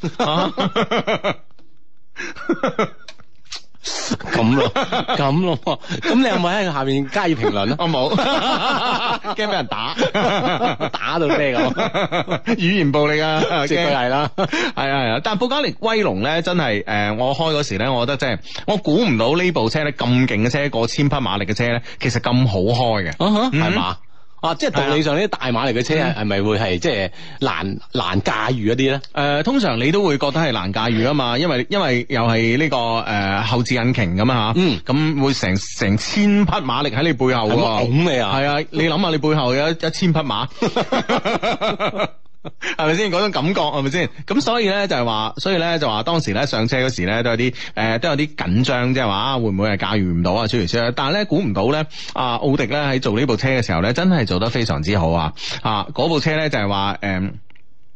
咁咯，咁咯，咁你有冇喺下面加以評論咧？我冇，驚俾人打，打到咩咁？語言暴力啊，絕對係啦，係啊係啊。但係布加迪威龍咧，真係誒、呃，我開嗰時咧，我覺得真係，我估唔到呢部車咧咁勁嘅車，過千匹馬力嘅車咧，其實咁好開嘅，係嘛？啊，即係道理上呢啲大馬力嘅車係咪會係即係難難駕馭一啲咧？誒、呃，通常你都會覺得係難駕馭啊嘛，因為因為又係呢、這個誒、呃、後置引擎咁啊吓，咁、嗯、會成成千匹馬力喺你背後喎，拱你啊！係啊，你諗下你背後有一一千匹馬。係咪先嗰種感覺係咪先？咁所以咧就係話，所以咧就話當時咧上車嗰時咧都有啲誒、呃、都有啲緊張，即係話會唔會係駕馭唔到啊？諸如此類。但係咧估唔到咧，啊奧迪咧喺做呢部車嘅時候咧，真係做得非常之好啊！啊嗰部車咧就係話誒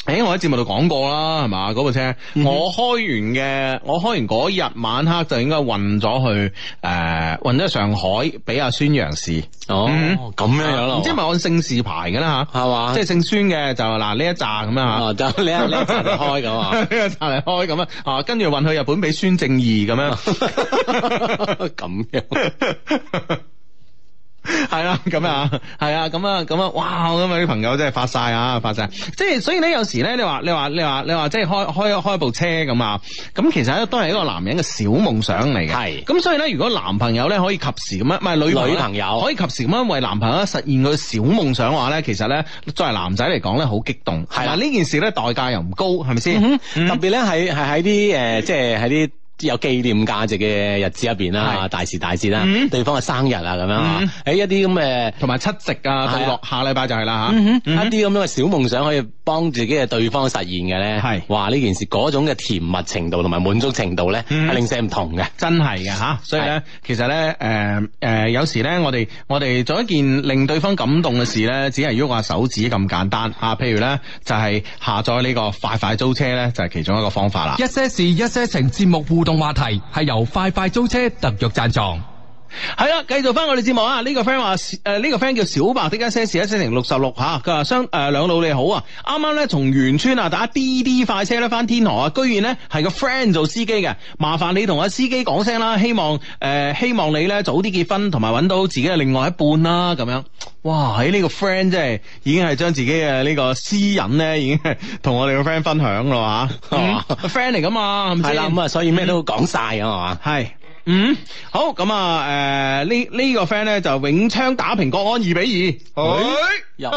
誒，我喺節目度講過啦，係嘛？嗰部車， 嗯、 我開完嘅，我開完嗰日晚黑就應該運咗去誒，運咗去上海俾阿孫楊氏。 哦，咁、嗯、樣樣咯， 唔知係咪按姓氏牌嘅啦吓，係嘛？即係姓孫嘅就嗱呢一紮咁樣吓， 哦，就呢一呢一紮嚟開咁啊，呢一紮嚟開咁啊，啊，跟住運去日本俾孫正義咁樣， 咁樣。 係啦，咁啊，係啊，咁啊，咁啊，哇！咁啊啲朋友真係發晒啊，發晒！即係所以咧，有時咧，你話你話你話你話，即係開開開部車咁啊，咁其實咧都係一個男人嘅小夢想嚟嘅。係，咁所以咧，如果男朋友咧可以及時咁樣，唔係女女朋友可以及時咁樣為男朋友實現佢小夢想嘅話咧，其實咧作為男仔嚟講咧好激動。係啦，呢件事咧代價又唔高，係咪先？特別咧係係喺啲誒，即係喺啲有紀念價值嘅日子入邊啦，大時大節啦，嗯、對方嘅生日啊咁樣啊，喺、嗯、一啲咁嘅同埋七夕啊，到落下禮拜就係啦吓，嗯嗯、一啲咁樣嘅小夢想可以幫自己嘅對方實現嘅咧，係話呢件事嗰種嘅甜蜜程度同埋滿足程度咧，係、嗯、零舍唔同嘅，真係嘅吓。所以咧，其實咧，誒、呃、誒、呃，有時咧，我哋我哋做一件令對方感動嘅事咧，只係喐下手指咁簡單啊。譬如咧，就係、是、下載呢個快快租車咧，就係、是、其中一個方法啦。 一些事，一些情節目互動話題係由快快租車特約贊助。 係啦，繼續翻我哋節目啊！呢、這個 friend 話誒，呢、呃這個 friend 叫小白的一些事一些情六十六吓，佢話雙誒兩老你好啊！啱啱咧從員村啊打滴滴快車咧翻天河啊，居然咧係個 friend 做司機嘅，麻煩你同阿司機講聲啦，希望誒、呃、希望你咧早啲結婚，同埋揾到自己嘅另外一半啦，咁樣。哇！喺呢個 friend 真係已經係將自己嘅呢個私隱咧，已經係同我哋個 friend 分享啦吓，係嘛？friend 嚟噶嘛，係啦，咁啊，所以咩都講晒啊嘛，係。嗯，好咁啊，誒、呃，呢呢、這個 friend 咧就永昌打平國安二比二，又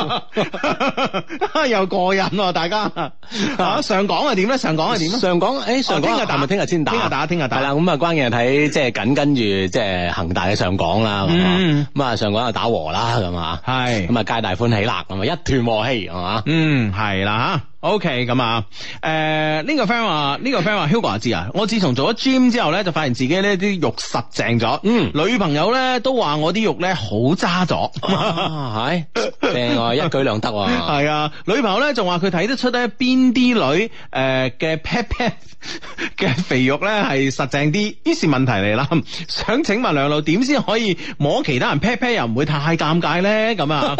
又過癮喎，大家啊，上港係點咧？上港係點咧？上港誒，上港聽日打咪聽日先打，聽日打，聽日打。係啦，咁啊，關鍵係睇即係緊跟住即係恒大嘅上港啦，咁啊、嗯，咁啊上港又打和啦，咁啊，係，咁啊皆大歡喜啦，咁啊一團和氣係嘛，嗯，係啦吓。OK，咁啊，誒、呃，呢、這個 friend 話，呢、這個 friend 話，Hugo 阿志啊，我自從做咗 gym 之後咧，就發現自己呢啲肉實淨咗，嗯，女朋友咧都話我啲肉咧好揸咗，係，正啊，一舉兩得啊，係啊，女朋友咧仲話佢睇得出咧邊啲女誒嘅 pat pat 嘅肥肉咧係實淨啲，於是問題嚟啦，想請問兩老點先可以摸其他人 pat pat 又唔會太尷尬咧？咁啊。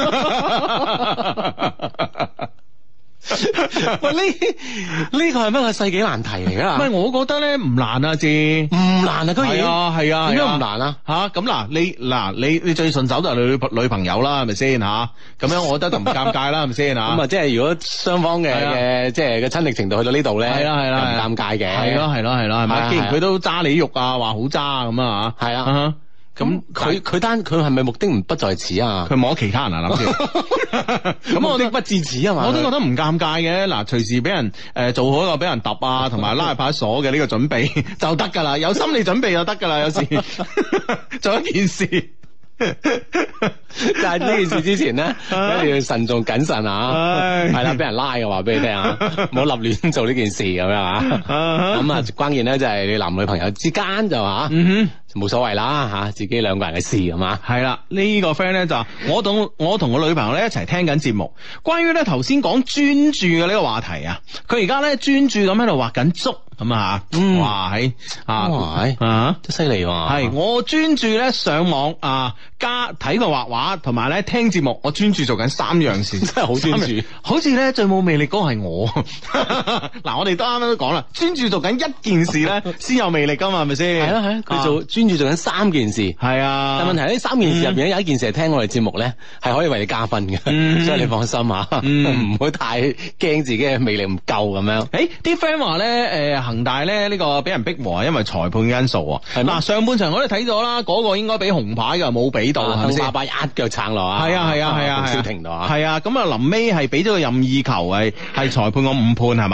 喂，呢呢個係乜個世紀難題嚟噶？唔係，我覺得咧唔難啊，字唔難啊，居然係啊係啊，點解唔難啊？吓咁嗱，你嗱你你最順手就係女女朋友啦，係咪先吓？咁樣我覺得就唔尷尬啦，係咪先吓？咁啊，即係如果雙方嘅嘅即係嘅親昵程度去到呢度咧，係啦係啦，唔尷尬嘅，係咯係咯係咯，係咪？既然佢都揸你肉啊，話好揸咁啊吓，係啊。咁佢佢單佢係咪目的唔不在此啊？佢摸其他人啊諗住，咁我的不至此啊嘛。我都覺得唔尷尬嘅，嗱，隨時俾人誒、呃、做好一個俾人揼啊，同埋拉入派出所嘅呢個準備就得噶啦，有心理準備就得噶啦，有時做一件事。但係呢件事之前咧，一定要慎重謹慎啊！係啦，俾人拉嘅話俾你聽啊，唔好立亂做呢件事咁樣啊！咁啊，關鍵咧就係你男女朋友之間就話，嗯哼，冇所謂啦吓，自己兩個人嘅事係嘛。係啦，呢個 friend 咧就我同我同我女朋友咧一齊聽緊節目，關於咧頭先講專注嘅呢個話題啊，佢而家咧專注咁喺度畫緊竹。咁啊，嗯，哇，喺啊，啊，真犀利喎！係我專注咧上網啊，加睇佢畫畫，同埋咧聽節目，我專注做緊三樣事，真係好專注。好似咧最冇魅力嗰個係我。嗱，我哋都啱啱都講啦，專注做緊一件事咧，先有魅力噶嘛，係咪先？係啊係啊，佢做專注做緊三件事，係啊。但問題喺呢三件事入邊咧，有一件事係聽我哋節目咧，係可以為你加分嘅，所以你放心吓，唔好太驚自己嘅魅力唔夠咁樣。誒，啲 friend 話咧，誒。恒大咧呢個俾人逼和，因為裁判嘅因素。係嗱，上半場我都睇咗啦，嗰個應該俾紅牌嘅，冇俾到，係咪先？鄧巴巴一腳撐落啊！係啊係啊係啊，小停到啊！係啊，咁啊臨尾係俾咗個任意球，係係裁判個誤判係嘛？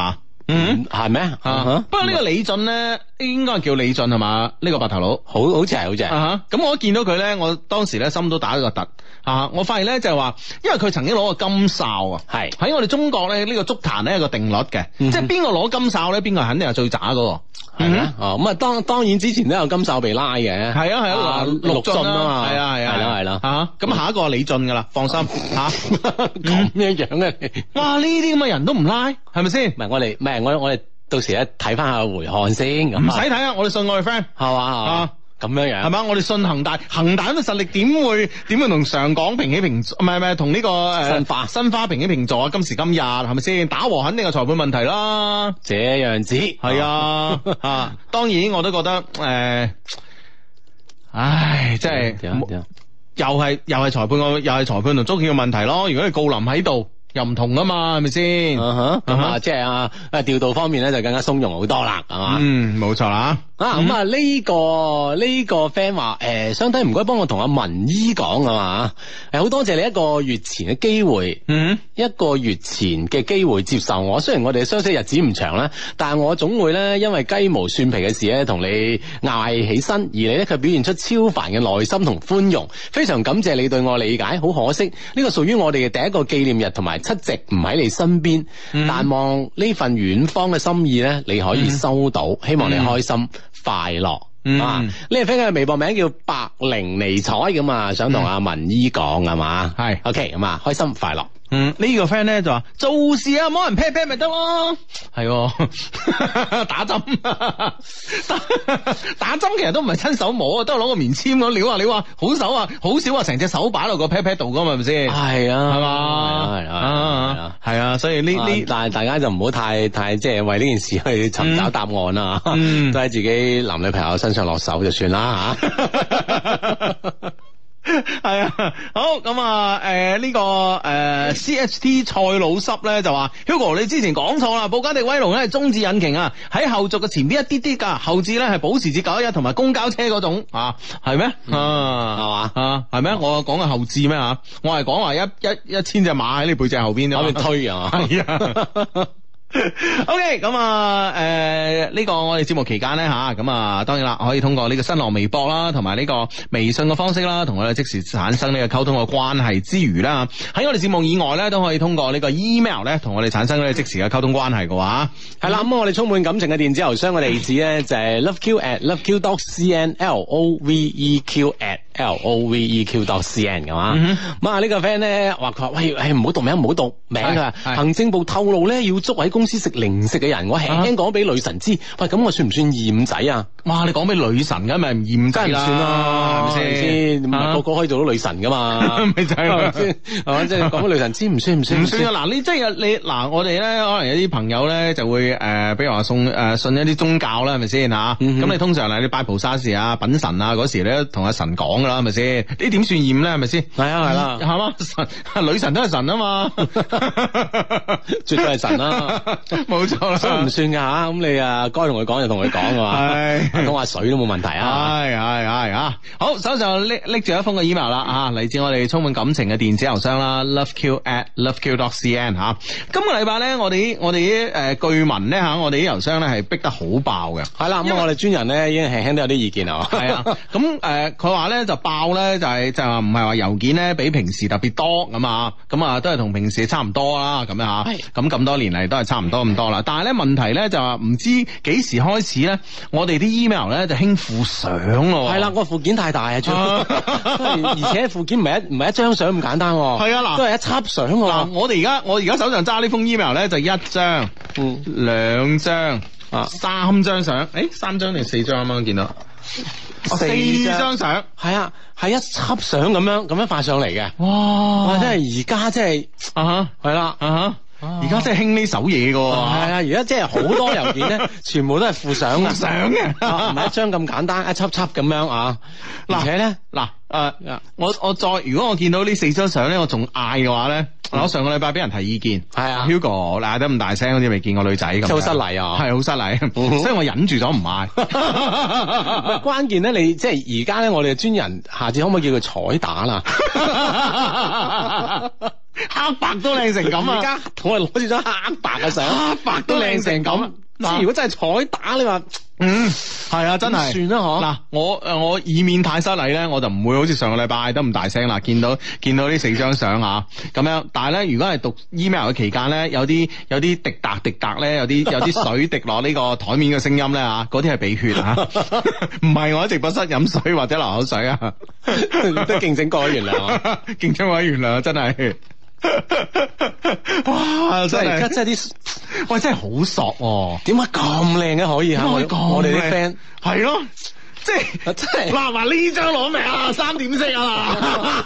嗯， 係咩？ 啊啊不過呢個李俊咧，應該係叫李俊係嘛？呢個白頭佬。 好好似係，好似係。 啊咁我一見到佢咧，我當時咧心都打咗個突啊！我發現咧就係話，因為佢曾經攞過金哨啊， 係喺我哋中國咧呢個足壇咧有個定律嘅， 嗯哼即係邊個攞金哨咧，邊個肯定係最渣嗰個。 係咩？哦，咁啊，當當然之前都有金哨被拉嘅。 係啊係啊， 陸進啊嘛。 係啊係啊， 係啦係啦。 啊，咁下一個係李俊噶啦，放心吓。 咁樣樣嘅你。 哇！呢啲咁嘅人都唔拉，係咪先？ 唔係我哋，唔係我我哋到時咧睇翻下回看先咁。 唔使睇啊！我哋信我哋 friend 係嘛啊。 咁樣樣係嘛？我哋信恒大，恒大咁嘅實力點會點會同上港平起平坐？唔係唔係同呢個誒申花申花平起平坐啊！今時今日係咪先？打和肯定係裁判問題啦。 這樣子係啊啊！當然我都覺得誒、呃，唉，真係點啊點啊又係又係裁判個又係裁判同足協嘅問題咯。如果你郜林喺度，又唔同啊嘛，係咪先？ 啊哈咁啊， 啊哈即係啊啊調度方面咧就更加鬆容好多啦，係嘛？ 嗯，冇錯啦。 啊咁啊呢個呢個 friend 話誒，相弟唔該幫我同阿文姨講啊嘛，誒好多謝你一個月前嘅機會， 嗯， 一個月前嘅機會接受我。雖然我哋相識日子唔長啦，但係我總會咧因為雞毛蒜皮嘅事咧同你嗌起身，而你咧卻表現出超凡嘅耐心同寬容，非常感謝你對我理解。好可惜呢個屬於我哋嘅第一個紀念日同埋七夕唔喺你身邊， 嗯但望呢份遠方嘅心意咧你可以收到，希望你開心。快樂、 嗯、 啊！呢個 friend 嘅微博名叫白靈尼彩咁啊，想同阿文姨講係嘛？ 係 OK 咁啊，開心快樂。 嗯，呢、這個 friend 咧就話做事啊，冇人 pat pat 咪得咯，係、哦、打針打打針其實都唔係親手摸啊，都係攞個棉簽咁撩下撩下，好手啊，好少話成隻手擺落個 pat pat 度噶嘛，係咪先？ 係啊， 係嘛， 係啊， 係啊，所以呢呢， 但係大家就唔好太太即係為呢件事去尋找答案啦， 嗯、 都喺自己男女朋友身上落手就算啦吓。 係啊，好咁啊，誒、呃、呢、這個誒、呃、C H T 蔡老濕咧就話 Hugo 你之前講錯啦，布加迪威龍咧係中置引擎啊，喺後續嘅前邊一啲啲噶，後置咧係保時捷九一一同埋公交車嗰種啊，係咩？啊，係嘛？啊，係咩？我講嘅後置咩吓？我係講話一一一千隻馬喺你背脊後邊啫， 喺度推啊， 係啊。O K， 咁啊，誒、呃，呢、這個我哋節目期間咧吓，咁啊，當然啦，可以通過呢個新浪微博啦，同埋呢個微信嘅方式啦，同我哋即時產生呢個溝通嘅關係之餘啦，喺我哋節目以外咧，都可以通過呢個 email 咧，同我哋產生呢個即時嘅溝通關係嘅話，係啦，咁我哋充滿感情嘅電子郵箱嘅地址咧就係 loveq at loveq dot cn，l o v e q at l o v e q dot cn 嘅嘛，咁啊呢個 friend 咧話佢話喂，誒唔好讀名，唔好讀名啊，行政部透露咧要捉喺公司食零食嘅人，我輕輕講俾女神知，喂咁我算唔算厭仔啊？哇！你講俾女神咁咪唔厭仔啦，唔算啦，係咪先？唔係個個可以做到女神噶嘛？咪就係咪先？係嘛？即係講俾女神知，唔算唔算唔算啊！嗱，你即係你嗱，我哋咧可能有啲朋友咧就會誒，比如話送誒信一啲宗教啦，係咪先吓？咁你通常嚟你拜菩薩時啊、稟神啊嗰時咧，同阿神講噶啦，係咪先？呢點算厭咧？係咪先？係啊，係啦，係嘛？神女神都係神啊嘛，絕對係神啦。冇錯啦，所以唔算噶吓，咁你啊該同佢講就同佢講噶嘛，係講下水都冇問題啊，係係係啊，好手上拎拎住一封嘅 email 啦啊，嚟自我哋充滿感情嘅電子郵箱啦 ，loveq at loveq dot cn 吓，今個禮拜咧我哋我哋啲誒據聞咧吓，我哋啲郵箱咧係逼得好爆嘅，係啦，咁我哋專人咧已經輕輕都有啲意見啊，係啊，咁誒佢話咧就爆咧就係就係話唔係話郵件咧比平時特別多咁啊，咁啊都係同平時差唔多啦，咁樣吓，咁咁多年嚟都係差唔多咁多啦，但係咧問題咧就話唔知幾時開始咧，我哋啲 email 咧就興附相咯，係啦，個附件太大啊，而且附件唔係一唔係一張相咁簡單，係啊，嗱，都係一輯相喎。嗱，我哋而家我而家手上揸呢封 email 咧就一張、嗯、兩張啊、三張相，誒，三張定四張啱啱見到？四張相，係啊，係一輯相咁樣咁樣發上嚟嘅，哇！哇，真係而家真係啊哈，係啦啊哈。而家真係興呢手嘢噶，係啊！而家即係好多郵件咧，全部都係附相嘅，相嘅，唔係一張咁簡單，一輯輯咁樣啊！而且咧，嗱，誒，我我再如果我見到呢四張相咧，我仲嗌嘅話咧，我上個禮拜俾人提意見，係啊 ，Hugo 嗌得咁大聲，好似未見過女仔咁，好失禮啊，係好失禮，所以我忍住咗唔嗌。關鍵咧，你即係而家咧，我哋嘅專人，下次可唔可以叫佢彩打啦？ 黑白都靚成咁啊！ 而家同我攞住張黑白嘅相， 黑白都靚成咁。 即係如果真係彩打，你話嗯係啊，真係算啦嗬。 嗱，我誒我以免太失禮咧，我就唔會好似上個禮拜嗌得咁大聲啦。見到見到呢四張相啊，咁樣。但係咧，如果係讀 email 嘅期間咧，有啲有啲滴答滴答咧，有啲有啲水滴落呢個台面嘅聲音咧嚇，嗰啲係鼻血啊，唔係我喺直播室飲水或者流口水啊， 都敬請各位原諒啊， 敬請各位原諒，真係。哇！真係而家真係啲， 喂，真係好索喎！ 點解咁靚嘅可以嚇？我我哋啲 friend 係咯，即係真係嗱嗱呢張攞命啊，三點式啊！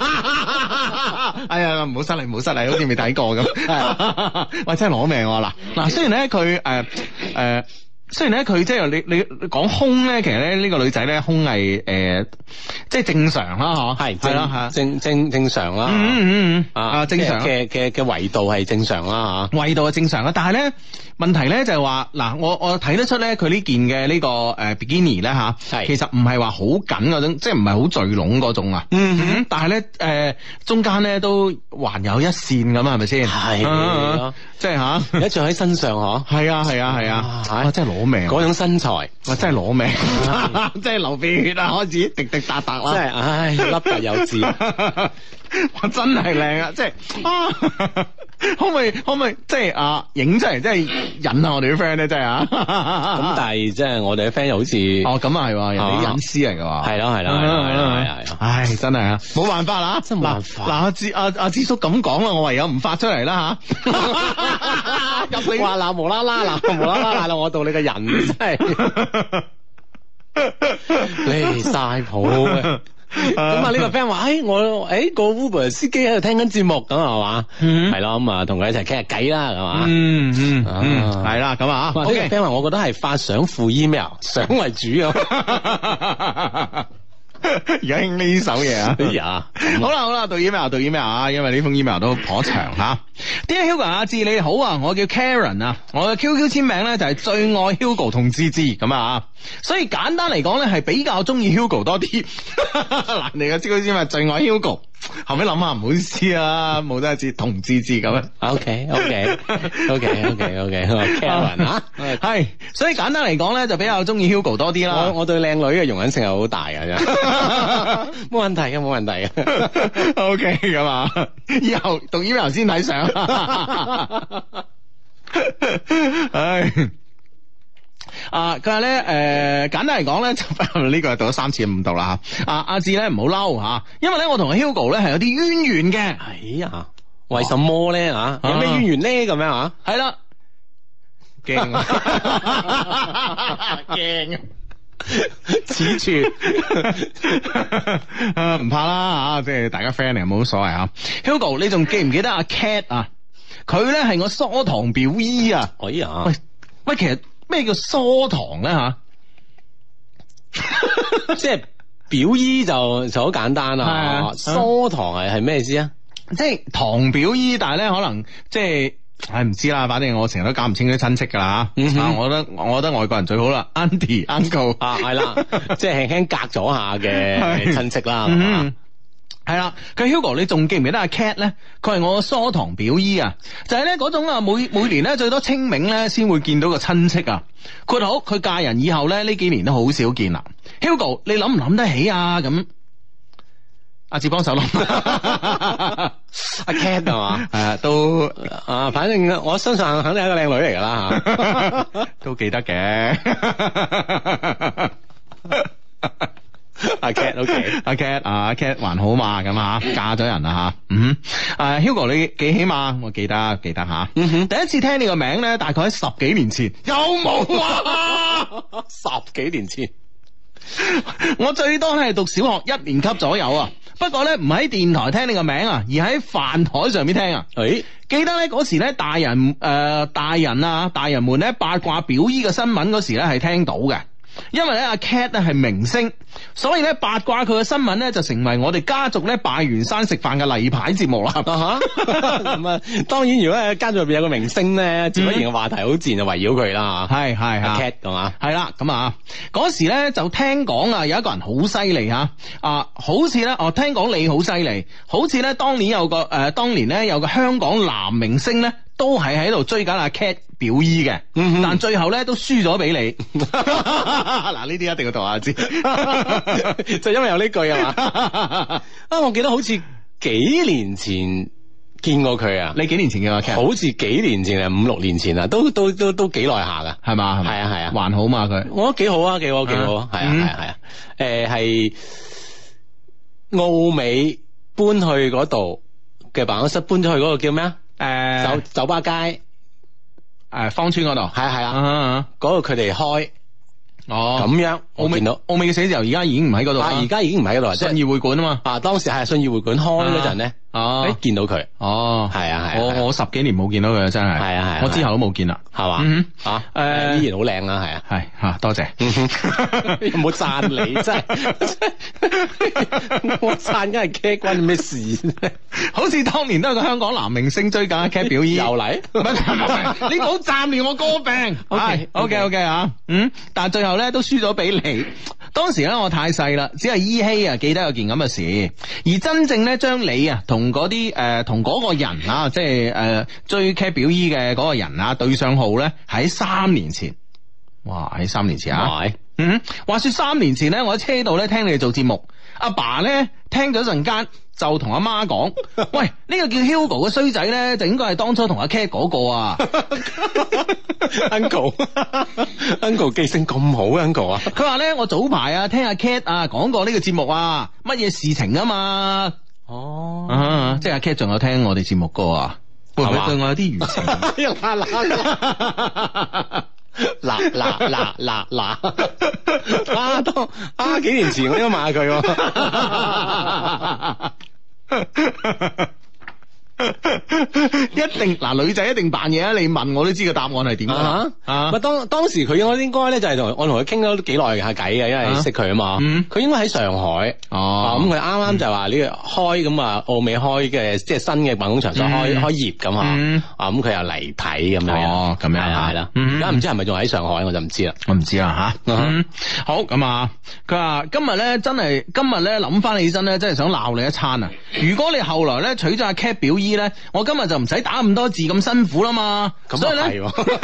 哎呀，唔好失禮，唔好失禮，好似未睇過咁。喂，真係攞命喎！嗱嗱，雖然咧佢誒誒。雖然咧佢即係你你講胸咧，其實咧呢個女仔咧胸係誒即係正常啦嗬， 係係啦係正正正常啦， 嗯嗯嗯啊正常嘅嘅嘅維度係正常啦吓， 維度係正常啦，但係咧問題咧就係話嗱，我我睇得出咧佢呢件嘅呢個誒 bikini 咧吓， 係其實唔係話好緊嗰種，即係唔係好聚攏嗰種啊，嗯嗯，但係咧誒中間咧都還有一線咁啊，係咪先？ 係即係吓， 一着喺身上嗬， 係啊係啊係啊，哇真係攞命嗰種身材， 哇真係攞命，真係流鼻血啊，開始滴滴答答啦， 真係唉粒凸有致， 哇真係靚啊，即係啊！可唔可以可唔可以即係啊影出嚟，即係引下我哋啲 friend 咧，真係啊！ 咁但係即係我哋啲 friend 又好似哦咁啊係喎，人哋啲隱私嚟㗎喎， 係咯係咯係咯係咯係咯， 唉真係啊，冇辦法啦， 真係冇辦法。 嗱阿智阿阿智叔咁講啦，我唯有唔發出嚟啦嚇。 入你話嗱無啦啦嗱無啦啦賴到我度，你個人真係離曬譜嘅。咁啊！呢個 friend 話：，誒，我誒個 Uber 司機喺度聽緊節目，咁係嘛？係咯，咁啊，同佢一齊傾下偈啦，係嘛？ 嗯嗯嗯，係啦，咁啊， 呢個 friend 話：，我覺得係發相附 email，相為主啊。 而家興呢首嘢啊！ 哎呀， 好啦好啦，讀 email 讀 email 啊，因為呢封 email 都頗長吓。Dear Hugo 阿志你好啊，我叫 Karen 啊，我嘅 Q Q 簽名咧就係最愛 Hugo 同芝芝咁啊，所以簡單嚟講咧係比較中意 Hugo 多啲。嗱，你嘅 Q Q 簽名最愛 Hugo， 後尾諗下唔好意思啊，冇得一字同芝芝咁啊。 OK OK OK OK OK，Karen 啊， 係，所以簡單嚟講咧就比較中意 Hugo 多啲啦。 我我對靚女嘅容忍性係好大嘅啫。冇問題嘅，冇問題嘅。 O K 咁啊，以後讀 email 先睇相。唉，啊，佢話咧，誒、呃，簡單嚟講咧，就呢個係讀咗三次唔讀啦吓。啊，阿志咧唔好嬲吓，因為咧我同阿 Hugo 咧係有啲淵源嘅。 哎呀，為什麼咧吓？有咩淵源咧？咁樣啊？ 係啦，驚啊，驚啊！此處啊唔怕啦吓，即係大家 friend 嚟冇所謂啊。Hugo，你仲記唔記得阿 Cat 啊？佢咧係我疏堂表姨啊。 哎呀， 喂喂，其實咩叫疏堂咧吓？ 即係表姨就就好簡單啦。疏堂係係咩意思啊？ 即係堂表姨，但係咧可能即係。唉，唔知啦，反正我成日都搞唔清啲親戚噶啦吓。啊，我覺得我覺得外國人最好啦 ，Auntie Uncle 啊，係啦，即係輕輕隔咗下嘅親戚啦。 係啦，佢 Hugo，你仲記唔記得阿 Cat 咧？佢係我疏堂表姨啊，就係咧嗰種啊，每每年咧最多清明咧先會見到個親戚啊。括好，佢嫁人以後咧呢幾年都好少見啦。Hugo，你諗唔諗得起啊？咁。阿志幫手諗，阿 Cat 係嘛？ 係啊，都啊，反正我相信肯定係一個靚女嚟噶啦吓， 都記得嘅。 阿 Cat，OK， 阿 Cat， 阿 Cat 還好嘛？咁啊，嫁咗人啦吓。嗯，誒 ，Hugo 你記起嘛？我記得，記得吓。嗯哼，第一次聽你個名咧，大概喺十幾年前，有冇啊？ 十幾年前， 我最多係讀小學一年級左右啊。不過咧唔喺電台聽你個名啊，而喺飯台上面聽啊。誒、欸，記得咧嗰時咧大人誒、呃、大人啊大人們咧八卦表姨嘅新聞嗰時咧係聽到嘅。 因為咧阿 Cat 咧係明星，所以咧八卦佢嘅新聞咧就成為我哋家族咧拜完山食飯嘅例牌節目啦。 咁啊，當然如果喺家族入邊有個明星咧，自不然嘅話題好自然就圍繞佢啦。 係係阿係 Cat 係嘛？ 係啦，咁啊嗰時咧就聽講啊有一個人好犀利吓啊，好似咧哦聽講你好犀利，好似咧當年有個誒、呃、當年咧有個香港男明星咧都係喺度追緊阿 Cat 表姨嘅， 嗯、 但最後咧都輸咗俾你。嗱呢啲一定要讀下知， 就因為有呢句啊嘛。啊，我記得好似幾年前見過佢啊。 你幾年前嘅阿 Cat？ 好似幾年前啊，五六年前啊，都都都都幾耐下噶， 係嘛？ 係啊係啊， 還好嘛佢。 我覺得幾好啊，幾好幾好，係啊係啊係啊。誒係澳美搬去嗰度嘅辦公室，搬咗去嗰個叫咩啊？誒酒酒吧街。 誒，芳村嗰度係啊係啊， 啊， 嗰度佢哋開， 哦， 咁樣我見到澳美嘅寫字樓而家已經唔喺嗰度啦， 而家已經唔喺嗰度啦， 信義會館啊嘛， 啊當時係信義會館開嗰陣咧， 哦， 誒見到佢， 哦， 係啊係， 我我十幾年冇見到佢真係， 係啊係， 我之後都冇見啦， 係嘛， 嗯吓， 誒依然好靚啦，係啊， 係吓，多謝， 有冇讚你真係，我讚梗係 Cat 關你咩事咧？ 好似當年都有個香港男明星追緊阿 Cat 表姨， 又嚟， 唔係呢個好暫亂我歌病 ，OK OK OK 啊，嗯，但係最後咧都輸咗俾你。當時咧我太細啦，只係依稀啊記得有件咁嘅事，而真正咧將你啊同嗰啲誒同嗰個人啊，即係誒、呃、追 Cat 表姨嘅嗰個人啊對上號咧，喺三年前，哇喺三年前啊， 係嗯，話說三年前咧，我喺車度咧聽你哋做節目，阿爸咧聽咗陣間就同阿媽講，喂，呢、這個叫 Hugo 嘅衰仔咧，就應該係當初同阿 Cat 嗰個啊。 Uncle Uncle 記性咁好 Uncle 啊！ 佢話咧，我早排啊聽阿 Cat 啊講過呢個節目啊，乜嘢事情啊嘛。 哦， 啊，即係阿 Cat 仲有聽我哋節目歌啊，會唔會對我有啲餘情？ 嗱嗱嗱嗱嗱，啊當啊幾年前我應該問下佢喎。 一定嗱，女仔一定扮嘢啊！你問我都知個答案係點啊！ 啊，咪當當時佢應該應該咧就係同我同佢傾咗幾耐下偈嘅，因為識佢啊嘛。佢應該喺上海哦，咁佢啱啱就話呢個開咁啊，澳美開嘅即係新嘅辦公場所開開業咁啊，啊咁佢又嚟睇咁樣。哦，咁樣係啦。而家唔知係咪仲喺上海，我就唔知啦。 我唔知啦吓。好咁啊，佢話今日咧真係今日咧諗翻起身咧，真係想鬧你一餐啊！如果你後來咧娶咗阿 Cat 表姨咧，我今日就唔使打咁多字咁辛苦啦嘛，所以咧，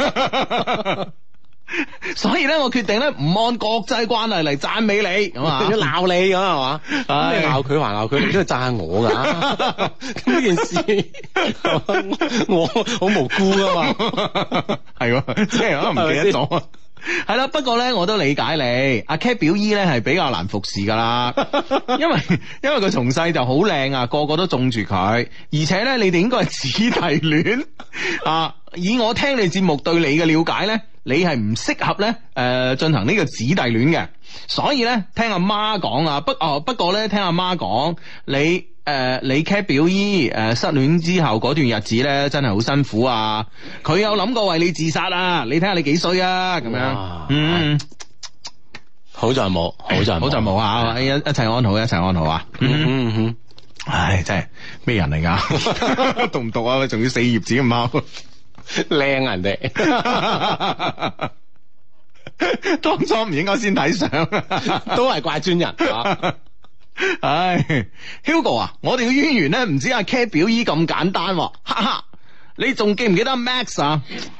所以咧我決定咧唔按國際慣例嚟讚美你，咁啊鬧你咁係嘛，咁你鬧佢還鬧佢，你都係讚下我噶，咁呢件事我好無辜噶嘛， 係，即係可能唔記得咗。係啦，不過咧我都理解你，阿 Cat 表姨咧係比較難服侍噶啦，因為因為佢從細就好靚啊，個個都中住佢，而且咧你哋應該係姊弟戀啊。以我聽你節目對你嘅了解咧，你係唔適合咧誒進行呢個姊弟戀嘅，所以咧聽阿媽講啊，不哦不過咧聽阿媽講你。誒、呃，你 Cat 表姨誒、呃、失戀之後嗰段日子咧，真係好辛苦啊！佢有諗過為你自殺啊！你睇下你幾衰啊！咁樣，嗯， 好在冇，好在好在冇啊！一一齊安好，一齊安好啊！嗯嗯嗯，唉，真係咩人嚟噶？讀唔讀啊？仲要四頁紙咁貓， 靚人哋。 當初唔應該先睇相， 都係怪專人。啊唉 ，Hugo 啊，我哋嘅淵源咧唔止阿 Cat 表姨咁簡單，哈哈！你仲記唔記得 Max 啊？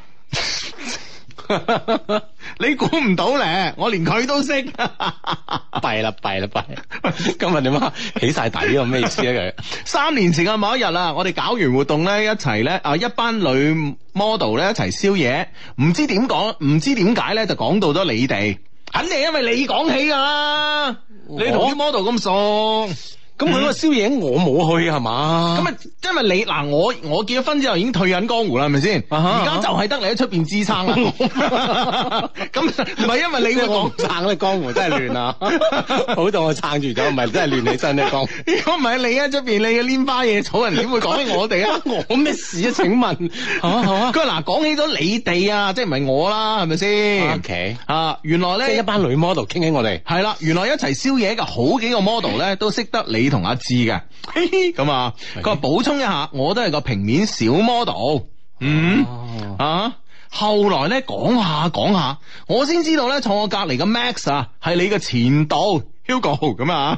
你估唔到咧，我連佢都識。弊啦弊啦弊！今日點啊？起晒底啊？咩意思啊？佢三年前嘅某一日啊，我哋搞完活動咧，一齊咧啊，一班女 model 咧一齊宵夜，唔知點講，唔知點解咧就講到咗你哋，肯定係因為你講起噶啦。你同啲 model 咁熟， 咁佢嗰個宵夜我冇去係嘛？ 咁啊，因為你嗱，我我結咗婚之後已經退隱江湖啦，係咪先？ 啊哈而家就係得你喺出邊支撐啦。咁唔係因為你會講我唔撐咧，江湖真係亂啊！好到我撐住咗，唔係真係亂起身咧，江湖。 如果唔係你喺出邊，你嘅拈花惹草，人點會講起我哋啊？ 我咩事啊？請問，係嘛係嘛？ 佢話嗱，講起咗你哋啊，即係唔係我啦，係咪先 O K 啊，原來咧即係一班女 model 傾起我哋。 係啦，原來一齊宵夜嘅好幾個 model 咧，都識得你同阿志嘅。咁啊，佢話補充一下，我都係個平面小 model。嗯、 哦啊，後來咧講下講下，我先知道咧坐我隔籬嘅 Max 啊，係你嘅前度 Hugo 咁啊。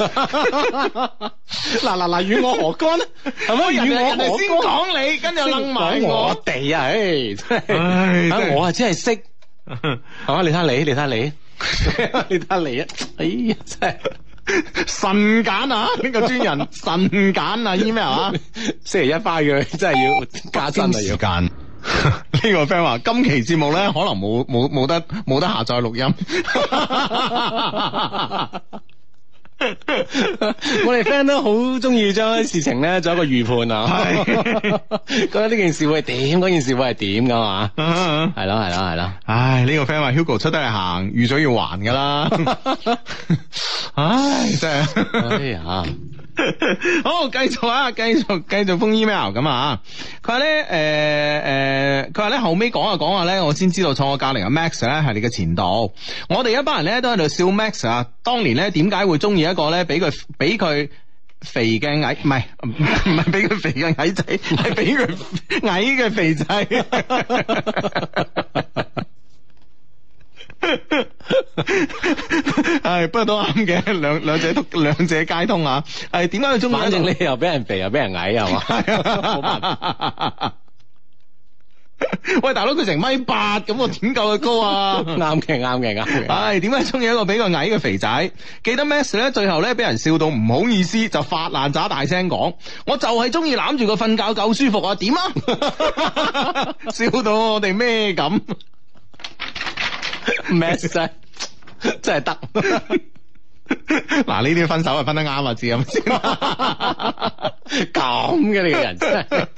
嗱嗱嗱，與我何干咧？係咪與人哋人哋我先講你，跟住又楞埋我我。 哋啊？唉，真唉係啊！ 真係我啊真係識，係嘛？你睇下你，你睇下你，你睇下你啊！哎呀，真係。 神揀啊！呢、個專人神揀啊 email 啊， 星期一翻佢真係要加薪啊！要間。呢個 friend 話今期節目咧可能冇冇冇得冇得下載錄音。 我哋 friend 都好中意將事情咧做一個預判啊，覺得呢件事會係點，嗰件事會係點噶嘛？係咯係咯係咯。 唉，呢、個 friend 話 Hugo 出得嚟行，預咗要還噶啦。唉，真係。 哎呀， 好，繼續啊，繼續繼續封 email 咁啊。佢話咧，誒誒，佢話咧後尾講下講下咧，我先知道坐我隔離嘅 Max 咧係你嘅前度。我哋一班人咧都喺度笑 Max 啊，當年咧點解會中意一個咧俾佢俾佢肥嘅矮，唔係唔係俾佢肥嘅矮仔，係俾佢矮嘅肥仔。係，不過都啱嘅，兩兩者都兩者皆通啊！係點解佢中意？ 反正你又俾人肥又俾人矮係嘛？冇辦法。 喂，大佬佢成米八，咁我點夠佢高啊？ 啱嘅啱嘅啱嘅。 唉，點解中意一個比較矮嘅肥仔？記得 Max 咧，最後咧俾人笑到唔好意思，就發爛渣大聲講：我就係中意攬住佢瞓覺夠舒服啊！點啊？笑到我哋咩咁？ Max 真係真係得。 嗱，呢啲分手係分得啱啊，知咁先。 咁嘅你個人真係。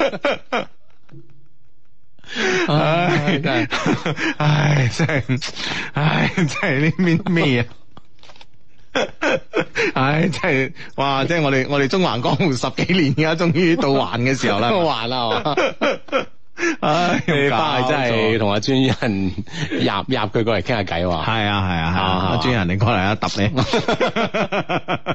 唉，真係，唉，真係，唉，真係呢邊咩啊？唉，真係，哇！即係我哋我哋中環江湖十幾年，而家終於到還嘅時候啦， 還啦係嘛？ 唉， 你翻去真係同阿專人入入佢過嚟傾下偈喎。 係啊係啊係啊，阿專人你過嚟啊，揼你。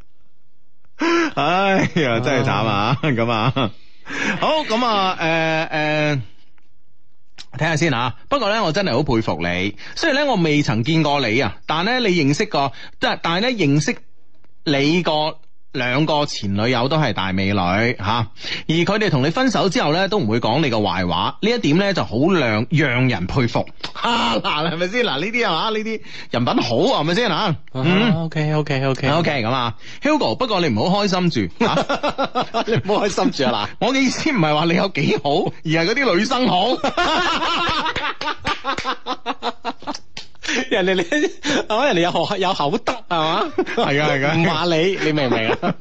唉呀，真係慘啊！咁啊，好咁啊，誒誒。睇下先啊！不過咧，我真係好佩服你。雖然咧，我未曾見過你啊，但係咧，你認識過，即係但係咧，認識你個兩個前女友都係大美女吓、啊，而佢哋同你分手之後咧，都唔會講你個壞話。呢一點咧就好讓讓人佩服。啊嗱，係咪先？嗱呢啲係嘛？呢啲人品好係咪先啊？嗯 OK OK OK OK 咁啊 ，Hugo，不過你唔好開心住，啊、 你唔好開心住啊嗱！ 我嘅意思唔係話你有幾好，而係嗰啲女生好。 人哋你係嘛？人哋有學有口德係嘛？ 係啊係啊， 唔話你，你明唔明啊？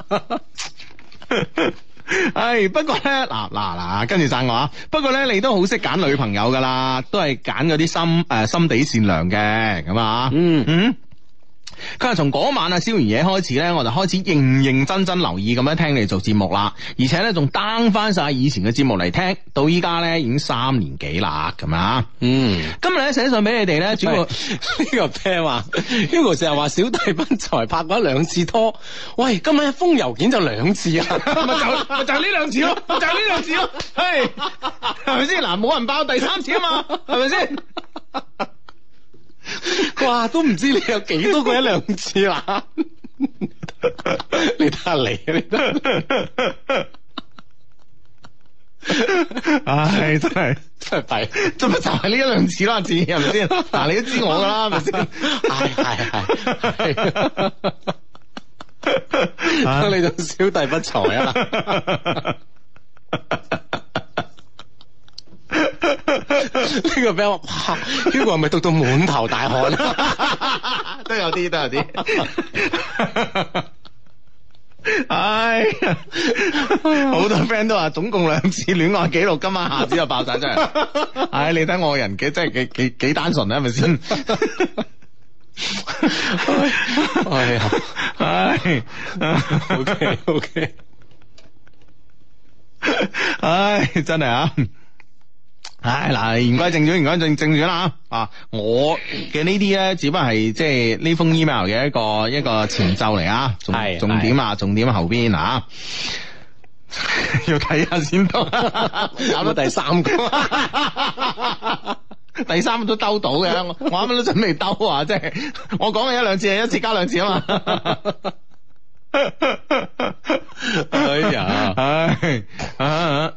唉，不過咧，嗱嗱嗱，跟住讚我啊！不過咧，你都好識揀女朋友噶啦，都係揀嗰啲心誒、呃、心地善良嘅，咁啊，嗯嗯。佢話從嗰晚啊，燒完嘢開始咧，我就開始認認真真留意咁樣聽你做節目啦，而且咧仲 down 翻晒以前嘅節目嚟聽，到依家咧已經三年幾啦，咁啊，嗯，今日咧寫信俾你哋咧，主要呢個 friend 話 Hugo 成日話小弟不才拍過一兩次拖，喂，今晚一封郵件就兩次啊， 咪就咪就係呢兩次咯，就係呢兩次咯，係係咪先？嗱，冇人爆第三次啊嘛，係咪先？ 哇，都唔知你有幾多個一兩次啦！你睇下你，你睇， 唉，真係真係弊， 咁咪就係呢一兩次啦，字係咪先？嗱，你都知我噶啦，係咪先？ 係係係，你仲小弟不才啊！呢個俾我，哇 Hugo 係咪讀到滿頭大汗啊？ 都有啲，都有啲。 唉，好多 friend 都話總共兩次戀愛記錄，今晚下子就爆晒出嚟。唉，你睇我個人幾真係幾幾幾單純啊，係咪先？ 哎呀， 唉 ，OK OK， 唉，真係啊！唉，嗱，言歸正傳，言歸正正傳啦啊！我嘅呢啲咧，只不過係即係呢封 email 嘅一個一個前奏嚟啊，重係重點啊，重點後邊啊，要睇下先得， 搞到第三個。 第三個都兜到嘅，我我啱啱都準備兜啊，即係我講嘅一兩次係一次加兩次啊嘛。 哎呀， 唉啊！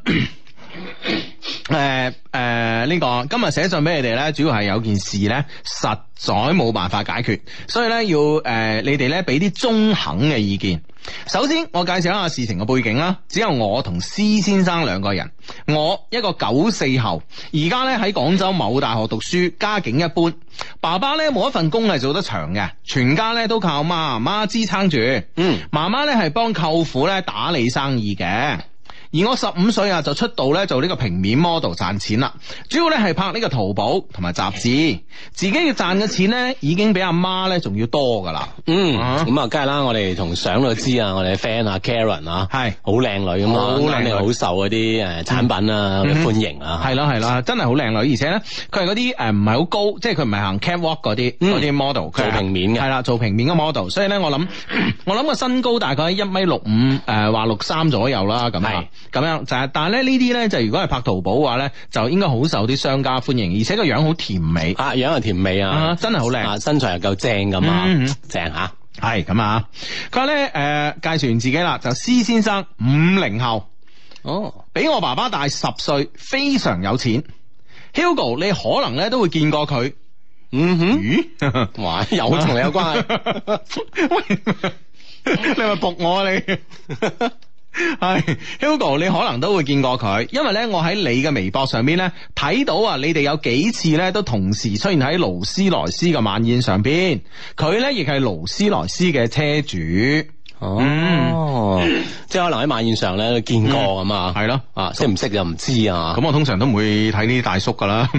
誒誒，呢個今日寫信俾你哋咧，主要係有件事咧，實在冇辦法解決，所以咧要誒、呃、你哋咧俾啲中肯嘅意見。首先，我介紹一下事情嘅背景啦。只有我同施先生兩個人，我一個九四後，而家咧喺廣州某大學讀書，家境一般。爸爸咧冇一份工係做得長嘅，全家咧都靠媽媽支撐住。 嗯， 媽媽咧係幫舅父咧打理生意嘅。而我十五歲啊就出道咧做呢個平面 model 賺錢啦，主要咧係拍呢個淘寶同埋雜誌，自己嘅賺嘅錢咧已經比阿媽咧仲要多噶啦。 嗯，咁啊，梗係啦，我哋從相都知啊，我哋嘅 friend 啊 Karen 啊，係好靚女咁啊，肯定好受嗰啲誒產品啊嘅歡迎啊。係咯係咯，真係好靚女，而且咧佢係嗰啲誒唔係好高，即係佢唔係行 catwalk 嗰啲嗰啲 model，佢做平面嘅。 係啦，做平面嘅 model，所以咧我諗我諗個身高大概喺一米六五誒或六三左右啦，咁啊。咁樣就係，但係咧呢啲咧就如果係拍淘寶嘅話咧，就應該好受啲商家歡迎，而且個樣好甜美啊，樣又甜美啊， 啊真係好靚， 啊身材又夠正咁啊， 嗯嗯正吓， 係咁啊！佢話咧誒介紹完自己啦，就施先生五零後， 哦， 比我爸爸大十歲，非常有錢。Hugo 你可能咧都會見過佢， 嗯哼， 咦？ 哇，又同你有關係？ 你咪仆我啊你？係 Hugo，你可能都會見過佢，因為咧我喺你嘅微博上邊咧睇到啊，你哋有幾次咧都同時出現喺勞斯萊斯嘅晚宴上邊，佢咧亦係勞斯萊斯嘅車主。 哦，嗯、即係可能喺晚宴上咧都見過咁啊，係咯、嗯，啊識唔識就唔知啊。 咁我通常都唔會睇呢啲大叔噶啦。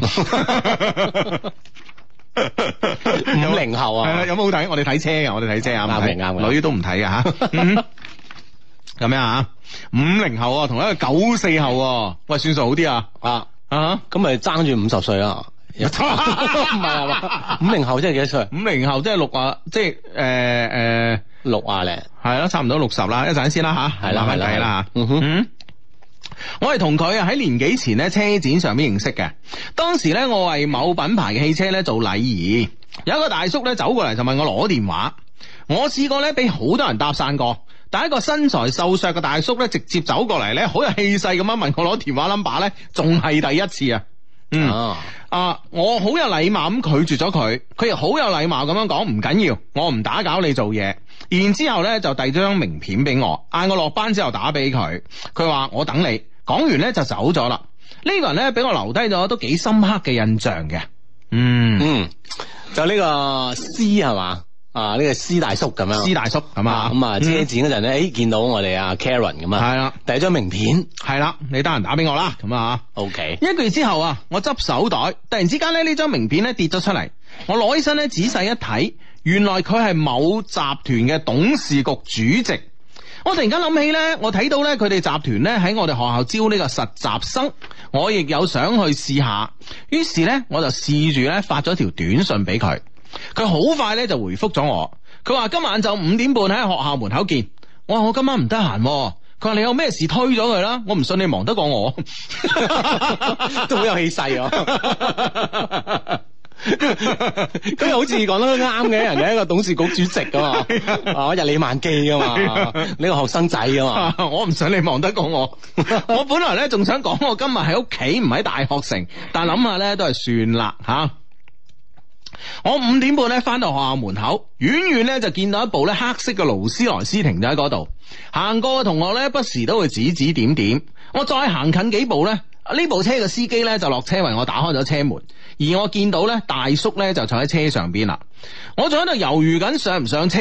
五零後啊， 係啦，有冇好睇？我哋睇車嘅，我哋睇車啊， 啱嘅啱嘅， 女都唔睇嘅吓。咁樣啊，五零後啊，同一個九四後啊，喂，算數好啲啊，啊啊， 咁咪爭住五十歲啊？唔係啊嘛，五零後即係幾多歲？ 五零後即係六啊，即係誒誒六啊零， 係咯，差唔多六十啦。一陣先啦吓， 係啦係啦係啦吓。 嗯哼， 我係同佢啊喺年幾前咧車展上面認識嘅。當時咧我為某品牌嘅汽車咧做禮儀，有一個大叔咧走過嚟就問我攞電話。我試過咧俾好多人搭訕過。但一個身材瘦削嘅大叔咧，直接走過嚟咧，好有氣勢咁樣問我攞電話 number 咧，仲係第一次啊！嗯啊，啊，我好有禮貌咁拒絕咗佢，佢又好有禮貌咁樣講唔緊要，我唔打攪你做嘢。然之後咧就遞咗張名片俾我，嗌我落班之後打俾佢。佢話我等你。講完咧就走咗啦。呢、這個人咧俾我留低咗都幾深刻嘅印象嘅。嗯嗯，就呢個 C 係嘛？啊！呢、這個施大叔咁樣， 施大叔咁啊， 咁啊車展嗰陣咧，誒、嗯、見到我哋阿 Karen 咁啊，係啦，第一張名片， 係啦，你得閒打俾我啦，咁啊 ，OK。 一個月之後啊，我執手袋，突然之間咧呢張名片咧跌咗出嚟，我攞起身咧仔細一睇，原來佢係某集團嘅董事局主席。我突然間諗起咧，我睇到咧佢哋集團咧喺我哋學校招呢個實習生，我亦有想去試下，於是咧我就試住咧發咗條短信俾佢。佢好快咧就回覆咗我，佢話今晚就五點半喺學校門口見。我話我今晚唔得閒，佢話你有咩事推咗佢啦，我唔信你忙得過我， 都好有氣勢啊！咁又好似講得啱嘅，人哋一個董事局主席噶嘛，啊日理萬機噶嘛，呢個學生仔噶嘛， 我唔想你忙得過我。我本來咧仲想講我今日喺屋企唔喺大學城，但諗下咧都係算啦吓。我五點半咧翻到學校門口，遠遠咧就見到一部咧黑色嘅勞斯萊斯停咗喺嗰度，行過嘅同學咧不時都會指指點點。我再行近幾步咧，呢部車嘅司機咧就落車為我打開咗車門，而我見到咧大叔咧就坐喺車上邊啦。我仲喺度猶豫緊上唔上車啊，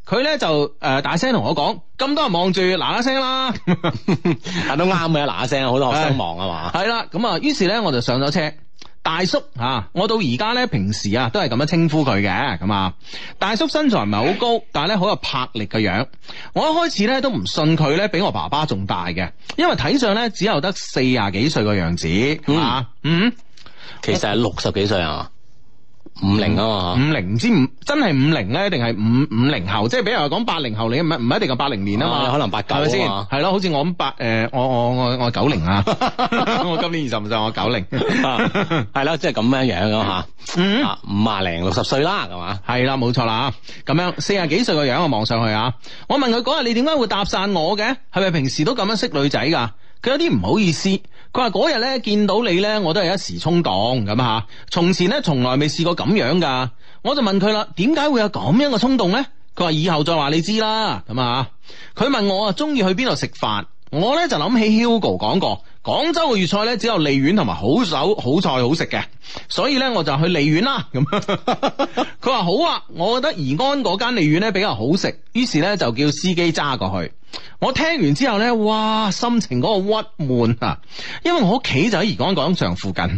佢咧就誒、呃、大聲同我講，咁多人望住，嗱嗱聲啦， 但都啱嘅，嗱嗱聲，好多學生忙啊嘛。 係啦，咁啊，於是咧我就上咗車。大叔吓、啊，我到而家咧平時啊都係咁樣稱呼佢嘅，咁啊，大叔身材唔係好高，但係咧好有魄力嘅樣。我一開始咧都唔信佢咧比我爸爸仲大嘅，因為睇上咧只有得四廿幾歲嘅樣子，係嘛？嗯，嗯其實係六十幾歲啊。五零啊嘛， 五零唔知五真係五零咧，定係五五零後？即係比如話講八零後，你唔唔一定係八零年啊嘛， 啊可能八九係咪先？ 啊係咯，好似我咁八誒，我我我我九零啊，我今年二十五歲，我九零， 係啦，即係咁樣樣咯吓， 嗯， 啊五啊零六十歲啦，係嘛？ 係啦，冇錯啦，咁樣四廿幾歲個樣，我望上去啊，我問佢嗰日你點解會搭訕我嘅？係咪平時都咁樣識女仔噶？佢有啲唔好意思，佢話嗰日咧見到你咧，我都係一時衝動咁吓，從前咧從來未試過咁樣噶。我就問佢啦，點解會有咁樣嘅衝動咧？佢話以後再話你知啦，咁啊。佢問我啊，中意去邊度食飯？我咧就諗起 Hugo 講過，廣州嘅粵菜咧只有利苑同埋好手好菜好食嘅，所以咧我就去利苑啦。咁佢話好啊，我覺得宜安嗰間利苑咧比較好食，於是咧就叫司機揸過去。我聽完之後咧，哇，心情嗰個鬱悶啊，因為我屋企就喺宜安廣場附近，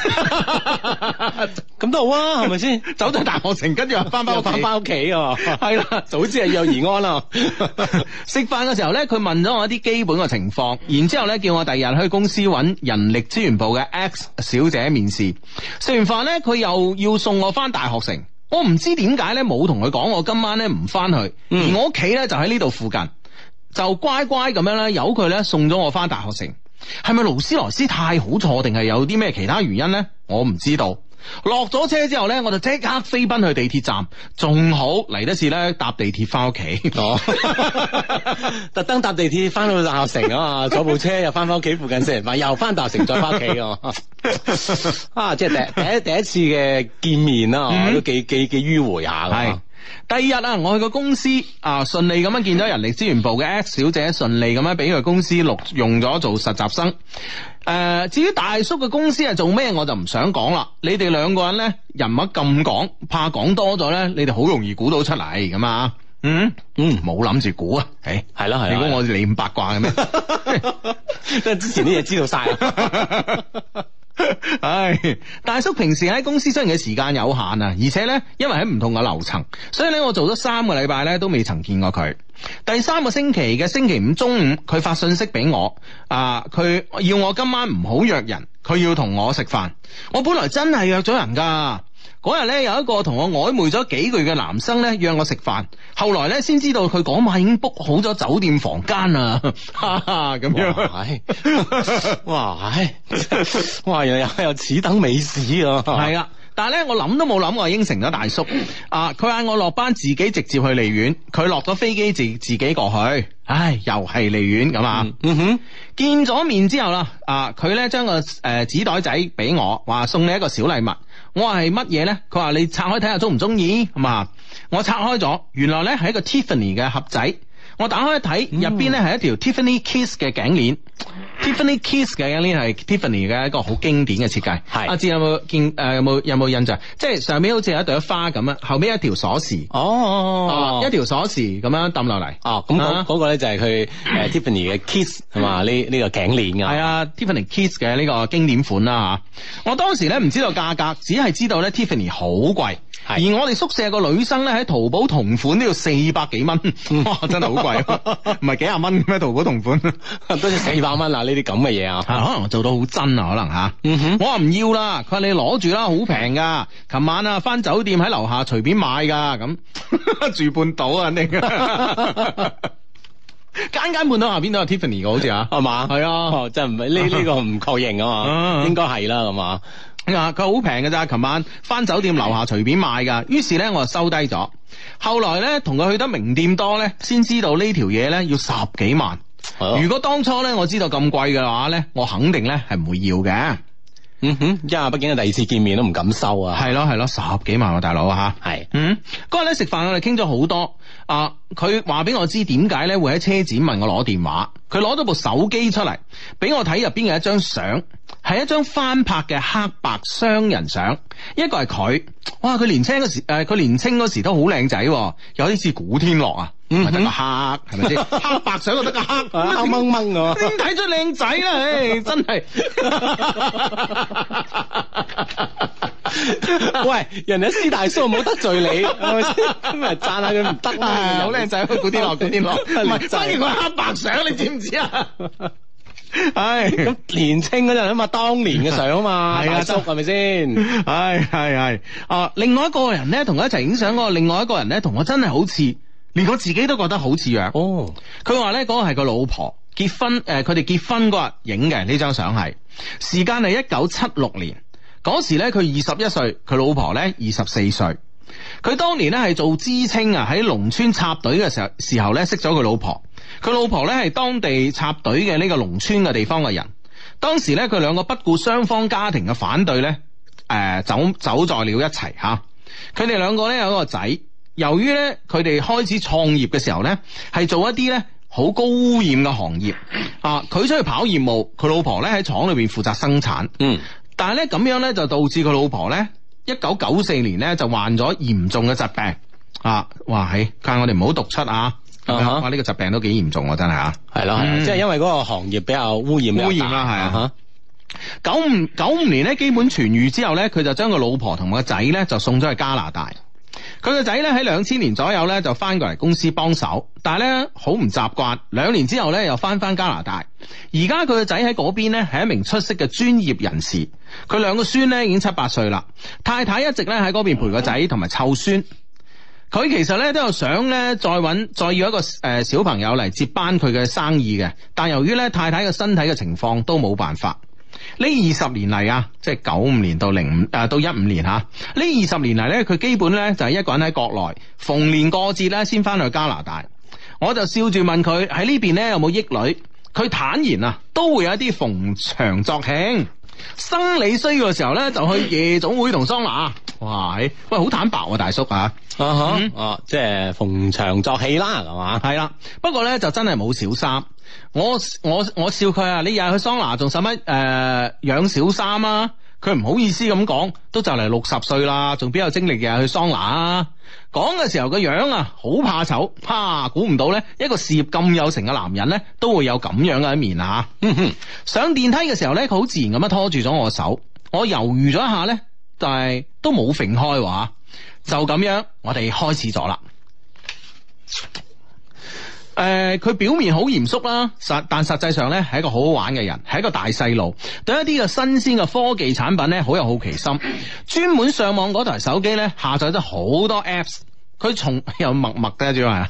咁都好啊，係咪先？ 走到大學城，跟住又翻翻翻翻屋企啊， 係啦， 早知係有宜安啦。 食飯嘅時候咧，佢問咗我一啲基本嘅情況，然之後咧叫我第二日去公司揾人力資源部嘅 X 小姐面試。食完飯咧，佢又要送我翻大學城。我唔知點解咧，冇同佢講我今晚咧唔翻去， 嗯、 而我屋企咧就喺呢度附近。就乖乖咁樣咧，由佢咧送咗我翻大學城。係咪勞斯萊斯太好坐，定係有啲咩其他原因呢？我唔知道。落咗車之後咧，我就即刻飛奔去地鐵站，仲好嚟得切咧搭地鐵翻屋企。哦， 特登搭地鐵翻到大學城啊嘛，坐部車又翻翻屋企附近食完飯，又翻大學城再翻屋企啊！啊，即係第第一第一次嘅見面啦，嗯、都幾幾幾迂迴下㗎。 第二日啊，我去個公司啊，順利咁樣見到人力資源部嘅 X 小姐，順利咁樣俾佢公司錄用咗做實習生。誒、呃，至於大叔嘅公司係做咩，我就唔想講啦。你哋兩個人咧人物咁講，怕講多咗咧，你哋好容易估到出嚟咁啊。嗯嗯，冇諗住估啊。誒， 係啦係啦， 你估我哋咁八卦嘅咩？ 即係之前啲嘢知道晒。 唉，大叔平時喺公司出現嘅時間有限啊，而且咧，因為喺唔同嘅樓層，所以咧我做咗三個禮拜咧都未曾見過佢。第三個星期嘅星期五中午，佢發信息俾我，啊，佢要我今晚唔好約人，佢要同我食飯。我本來真係約咗人噶。嗰日咧有一個同我曖昧咗幾個月嘅男生咧約我食飯，後來咧先知道佢嗰晚已經 book 好咗酒店房間啊，咁樣。 哇，哇，哇，原來有有此等美事啊！ 係啊，但係咧我諗都冇諗，我應承咗大叔。啊，佢嗌我落班自己直接去利苑，佢落咗飛機自自己過去。唉，又係利苑咁啊。嗯哼，見咗面之後啦，啊，佢咧將個誒紙袋仔俾我，話送你一個小禮物。我話係乜嘢咧？佢話你拆開睇下中唔中意，咁啊，我拆開咗，原來咧係一個 Tiffany 嘅盒仔。我打開一睇，入邊咧係一條 Tiffany Kiss 嘅頸鏈。Tiffany Kiss 嘅頸鏈係 Tiffany 嘅一個好經典嘅設計。係阿志有冇見誒？有冇有冇印象？即係上面好似有一朵花咁樣，後邊一條鎖匙。哦，一條鎖匙咁樣抌落嚟。哦，咁嗰嗰個咧就係佢誒 Tiffany 嘅 Kiss 係嘛？呢呢個頸鏈㗎。係啊 ，Tiffany Kiss 嘅呢個經典款啦嚇。我當時咧唔知道價格，只係知道咧 Tiffany 好貴。而我哋宿舍個女生咧喺淘寶同款都要四百幾蚊，哇！真係好貴，唔係幾廿蚊咩？淘寶同款都要四百蚊啊！呢啲咁嘅嘢啊，可能做到好真啊，可能吓。嗯哼，我話唔要啦，佢話你攞住啦，好平噶。琴晚啊，翻酒店喺樓下隨便買噶，咁住半島啊，你間間半島下邊都有 Tiffany 嘅，好似啊，係嘛？係啊，真係唔係呢呢個唔確認啊嘛，應該係啦，咁啊。啊！佢好平嘅咋，琴晚翻酒店樓下隨便買噶，於是咧我就收低咗。後來咧同佢去得名店多咧，先知道呢條嘢咧要十幾萬。哦、如果當初咧我知道咁貴嘅話咧，我肯定咧係唔會要嘅。 嗯哼，因為畢竟係第二次見面都唔敢收啊。 係咯係咯，十幾萬喎大佬吓。 係， 嗯，嗰日咧食飯我哋傾咗好多。啊，佢話俾我知點解咧會喺車展問我攞電話。佢攞咗部手機出嚟俾我睇，入邊嘅一張相係一張翻拍嘅黑白雙人相，一個係佢，哇！佢年輕嗰時誒，佢、呃、年輕嗰時都好靚仔，有啲似古天樂啊，唔係得個黑係咪先？黑白相就得個黑，黑掹掹㗎， 點睇出靚仔啦？唉，真係。 喂，人哋師大叔冇得罪你，係咪先？咁咪讚下佢唔得啦， 好靚仔，古天樂，古天樂，唔係，反而佢黑白相，你知唔知啊？唉， 咁年青嗰陣啊嘛，當年嘅相啊嘛， 係啊， 大叔係咪先？ 係係係啊！另外一個人咧，同佢一齊影相嗰個，另外一個人咧，同我真係好似，連我自己都覺得好似樣。哦，佢話咧嗰個係個老婆結婚，誒、呃，佢哋結婚嗰日影嘅呢張相係，時間係一九七六年。嗰時咧，佢二十一歲，佢老婆咧二十四歲。佢當年咧係做知青啊，喺農村插隊嘅時候時候咧識咗佢老婆。佢老婆咧係當地插隊嘅呢個農村嘅地方嘅人。當時咧佢兩個不顧雙方家庭嘅反對咧，誒、呃、走走在了一齊吓。佢哋兩個咧有一個仔。由於咧佢哋開始創業嘅時候咧，係做一啲咧好高污染嘅行業啊。佢出去跑業務，佢老婆咧喺廠裏邊負責生產。嗯。但係咧咁樣咧就導致佢老婆咧一九九四年咧就患咗嚴重嘅疾病啊！哇，係，但係我哋唔好讀出啊！哇，呢、這個疾病都幾嚴重啊，真係啊！ 係咯，係，即係因為嗰個行業比較污染， 污染啦，係啊！九五九五年咧基本痊愈之後咧，佢就將個老婆同個仔咧就送咗去加拿大。佢個仔咧喺兩千年左右咧就翻過嚟公司幫手，但係咧好唔習慣。兩年之後咧又翻翻加拿大。而家佢個仔喺嗰邊咧係一名出色嘅專業人士。佢兩個孫咧已經七八歲啦，太太一直咧喺嗰邊陪個仔同埋湊孫。佢其實咧都有想咧再搵再要一個誒、呃、小朋友嚟接班佢嘅生意嘅，但由於咧太太嘅身體嘅情況都冇辦法。呢二十年嚟啊，即係九五年到零五誒到一五年吓，呢二十年嚟咧，佢基本咧就係一個人喺國內，逢年過節咧先翻去加拿大。我就笑住問佢喺呢邊咧有冇益女，佢坦言啊，都會有一啲逢場作興，生理需要嘅時候咧就去夜總會同桑拿。哇，喂，好坦白啊，大叔啊，啊哈， 嗯、啊，即係逢場作戲啦，係嘛？ 係啦，不過咧就真係冇小三。我我我笑佢啊！你日日去桑拿仲使乜誒養小三啊？佢唔好意思咁講，都就嚟六十歲啦，仲邊有精力日日去桑拿啊？講嘅時候個樣啊，好怕醜，哈！估唔到咧，一個事業咁有成嘅男人咧，都會有咁樣嘅一面啊！上電梯嘅時候咧，佢好自然咁樣拖住咗我手，我猶豫咗一下咧，但係都冇揈開話，就咁樣，我哋開始咗啦。誒，佢、呃、表面好嚴肅啦，實但實際上咧係一個好好玩嘅人，係一個大細路，對一啲嘅新鮮嘅科技產品咧好有好奇心，專門上網嗰台手機咧下載咗好多 apps， 佢從又默默嘅主要係，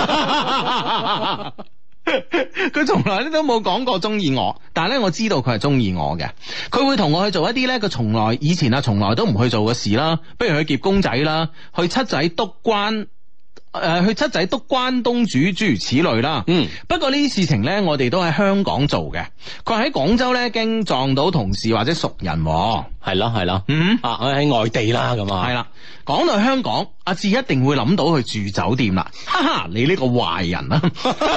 佢從來咧都冇講過中意我，但係咧我知道佢係中意我嘅，佢會同我去做一啲咧佢從來以前啊從來都唔去做嘅事啦，不如去夾公仔啦，去七仔督關。誒、呃，去七仔督關東煮諸如此類啦。嗯，不過呢啲事情呢，我哋都喺香港做嘅。佢喺廣州呢，經撞到同事或者熟人。 係咯係咯。嗯，啊，喺外地啦咁啊。係啦， 講到香港，阿志一定會諗到去住酒店啦。哈哈，你呢個壞人啊！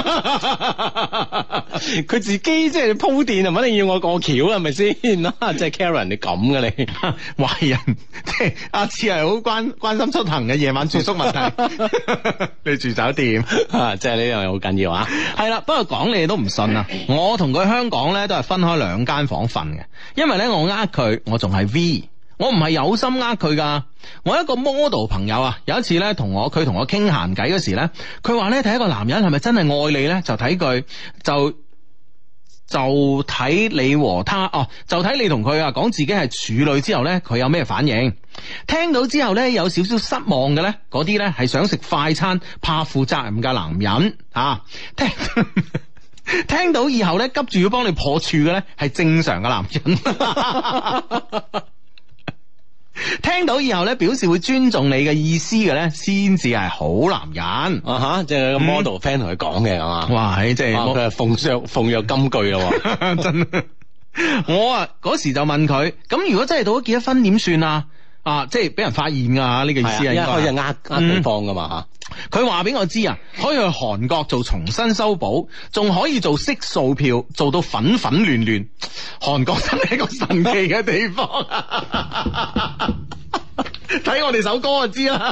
佢自己即係鋪墊，係咪一定要我過橋係咪先？啊，即係 Karen，你咁嘅你壞人，即係阿志係好關關心出行嘅夜晚住宿問題。你住酒店啊，即係呢樣嘢好緊要啊！ 係啦，不過講你哋都唔信啊！我同佢香港咧都係分開兩間房瞓嘅，因為咧我呃佢，我仲係 V， 我唔係有心呃佢噶。我一個 model 朋友啊，有一次咧同我佢同我傾閒偈嗰時咧，佢話咧睇一個男人係咪真係愛你咧，就睇佢就。就睇你和他哦，就睇你同佢啊講自己係處女之後呢，佢有咩反應？聽到之後呢，有少少失望嘅呢，嗰啲呢係想食快餐怕負責任嘅男人啊！聽聽到以後呢，急住要幫你破處嘅呢，係正常嘅男人。聽到以後咧，表示會尊重你嘅意思嘅咧，先至係好男人啊！吓，即係個 model friend 同佢講嘅係嘛？ 哇，係即係佢係奉上奉若金句咯， 真。 我啊嗰時就問佢，咁如果真係到咗結咗婚點算啊？啊，即係俾人發現啊呢、這個意思啊， 一開始應該呃呃對方噶嘛吓。 佢話俾我知啊，可以去韓國做重新修補，仲可以做色素票，做到粉粉亂亂。韓國真係一個神奇嘅地方啊！睇我哋首歌就知啦，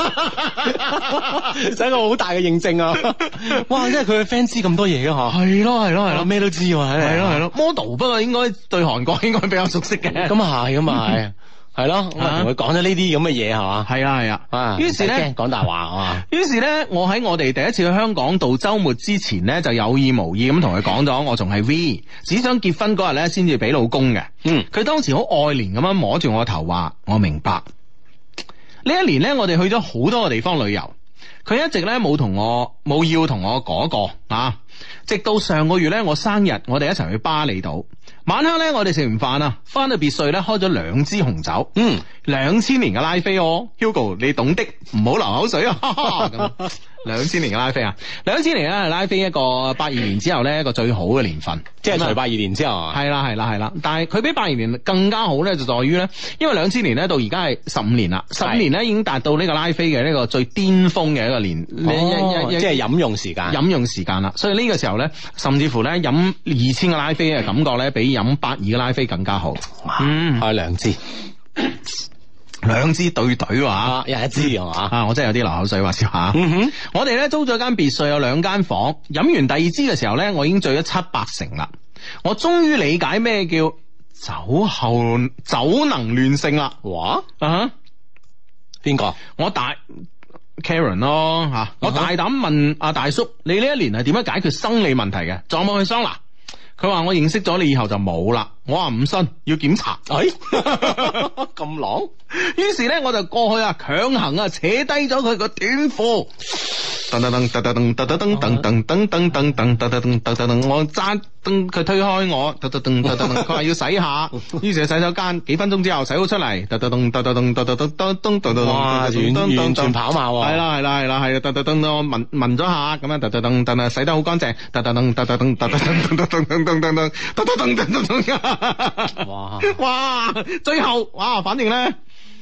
就一個好大嘅認證啊！哇，即係佢嘅 fans 知咁多嘢嘅嗬。 係咯係咯係咯， 咩都知喎， 係咯係咯。model 不過應該對韓國應該比較熟悉嘅。 咁啊係，咁啊係。係咯，咁啊同佢講咗呢啲咁嘅嘢係嘛， 係啊係啊， 啊， 於是咧講大話係嘛， 於是咧我喺我哋第一次去香港度週末之前咧，就有意無意咁同佢講咗，我仲係 V， 只想結婚嗰日咧先至俾老公嘅。 嗯，佢當時好愛憐咁樣摸住我頭話，我明白。呢一年咧，我哋去咗好多個地方旅遊，佢一直咧冇同我冇要同我嗰個啊，直到上個月咧我生日，我哋一齊去巴厘島。晚黑咧，我哋食完飯啊，翻到別墅咧，開咗兩支紅酒，嗯，兩千年嘅拉菲哦 ，Hugo 你懂的，唔好流口水啊，咁兩千年嘅拉菲啊，兩千年咧拉菲一個八二年之後咧一個最好嘅年份， 即係除八二年之後， 係啦係啦係啦，但係佢比八二年更加好咧，就在於咧，因為兩千年咧到而家係十五年啦，十五年咧已經達到呢個拉菲嘅呢個最巔峰嘅一個年， 哦、一一即係飲用時間， 飲用時間啦，所以呢個時候咧，甚至乎咧飲二千個拉菲嘅感覺咧比飲八二嘅拉菲更加好， 嗯，開兩支， 兩支對對話， 一人一支係嘛？ 啊，我真係有啲流口水話笑下。 嗯哼， 我哋咧租咗間別墅，有兩間房，飲完第二支嘅時候咧，我已經醉咗七八成啦。我終於理解咩叫酒後酒能亂性啦。 哇啊， 邊個？ 我大 Karen 咯吓，我大膽問阿大叔，你呢一年係點樣解決生理問題嘅？仲有冇去桑拿？佢話我認識咗你以後就冇啦，我話唔信，要檢查。哎， 咁狼， 於是咧我就過去啊，強行啊扯低咗佢個短褲。噔噔噔噔噔噔噔噔噔噔噔噔噔噔噔噔噔，我揸噔佢推開我，噔噔噔噔噔，佢話要洗下，於是去洗手間，幾分鐘之後洗好出嚟，噔噔噔噔噔噔噔噔噔噔噔噔， 哇，完完全跑馬喎， 係啦係啦係啦係啦，噔噔噔我聞聞咗下，咁樣噔噔噔噔啊洗得好乾淨，噔噔噔噔噔噔噔噔噔噔噔噔噔噔噔噔噔噔噔，哇哇，最後哇，反正咧。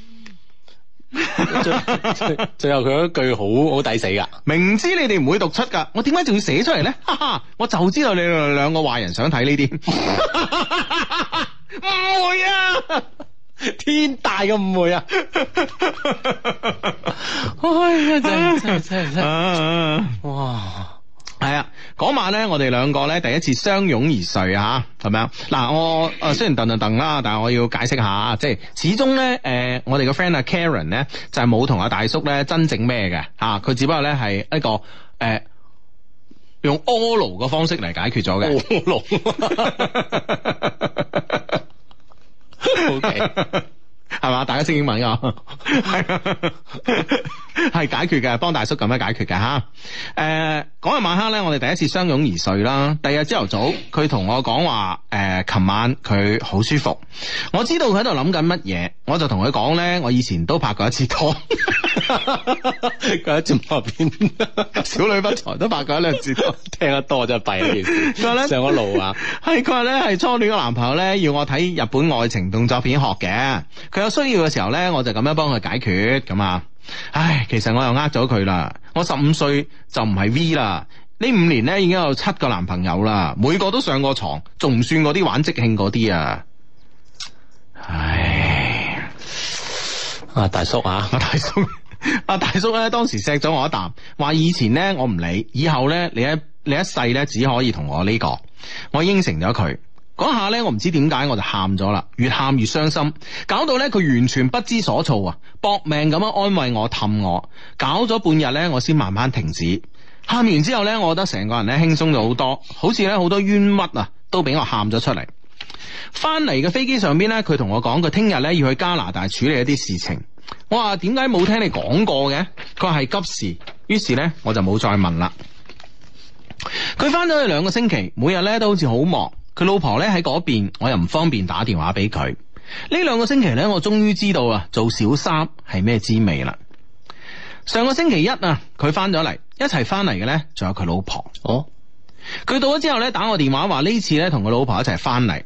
最最最後佢嗰句好好抵死噶， 明知你哋唔會讀出噶，我點解仲要寫出嚟咧？哈哈，我就知道你哋兩個壞人想睇呢啲，誤會啊， 天大嘅誤會啊！哎呀，真係真係真係真係，哇！ 係啊，嗰晚咧，我哋兩個咧第一次相擁而睡啊，係咪啊？嗱，我誒雖然頓頓頓啦，但係我要解釋下，即係始終咧，誒、呃，我哋個 friend 阿 Karen 咧就係冇同阿大叔咧真正咩嘅吓，佢、啊、只不過咧係一個誒、呃、用 oral 嘅方式嚟解決咗嘅。oral OK。係嘛？大家識英文噶，係解決嘅，幫大叔咁樣解決嘅吓。誒、呃，嗰日晚黑咧，我哋第一次相擁而睡啦。第二日朝頭早，佢同我講話，誒、呃，琴晚佢好舒服。我知道佢喺度諗緊乜嘢，我就同佢講咧，我以前都拍過一次拖。佢喺節目入邊，小女不才都拍過一兩次拖， 聽得多真係弊呢件事。 佢話咧上咗路啊， 係佢話咧係初戀嘅男朋友咧，要我睇日本愛情動作片學嘅。佢有需要嘅時候咧，我就咁樣幫佢解決咁啊。唉，其實我又呃咗佢啦。我十五歲就唔係 V 啦。呢五年咧已經有七個男朋友啦，每個都上過床，仲唔算嗰啲玩即興嗰啲啊。唉， 啊大叔啊， 阿大叔，阿大叔咧當時錫咗我一啖，話以前咧我唔理，以後咧你一你一世咧只可以同我呢個。我應承咗佢。嗰下咧，我唔知點解我就喊咗啦，越喊越傷心，搞到咧佢完全不知所措啊，搏命咁樣安慰我氹我，搞咗半日咧，我先慢慢停止。喊完之後咧，我覺得成個人咧輕鬆咗好多，好似咧好多冤屈啊都俾我喊咗出嚟。翻嚟嘅飛機上邊咧，佢同我講佢聽日咧要去加拿大處理一啲事情。我話點解冇聽你講過嘅？佢話係急事，於是咧我就冇再問啦。佢翻咗去兩個星期，每日咧都好似好忙。佢老婆咧喺嗰邊，我又唔方便打電話俾佢。呢兩個星期咧，我終於知道啊，做小三係咩滋味啦。上個星期一啊，佢翻咗嚟，一齊翻嚟嘅咧，仲有佢老婆。哦，佢到咗之後咧，打我電話話呢次咧同佢老婆一齊翻嚟。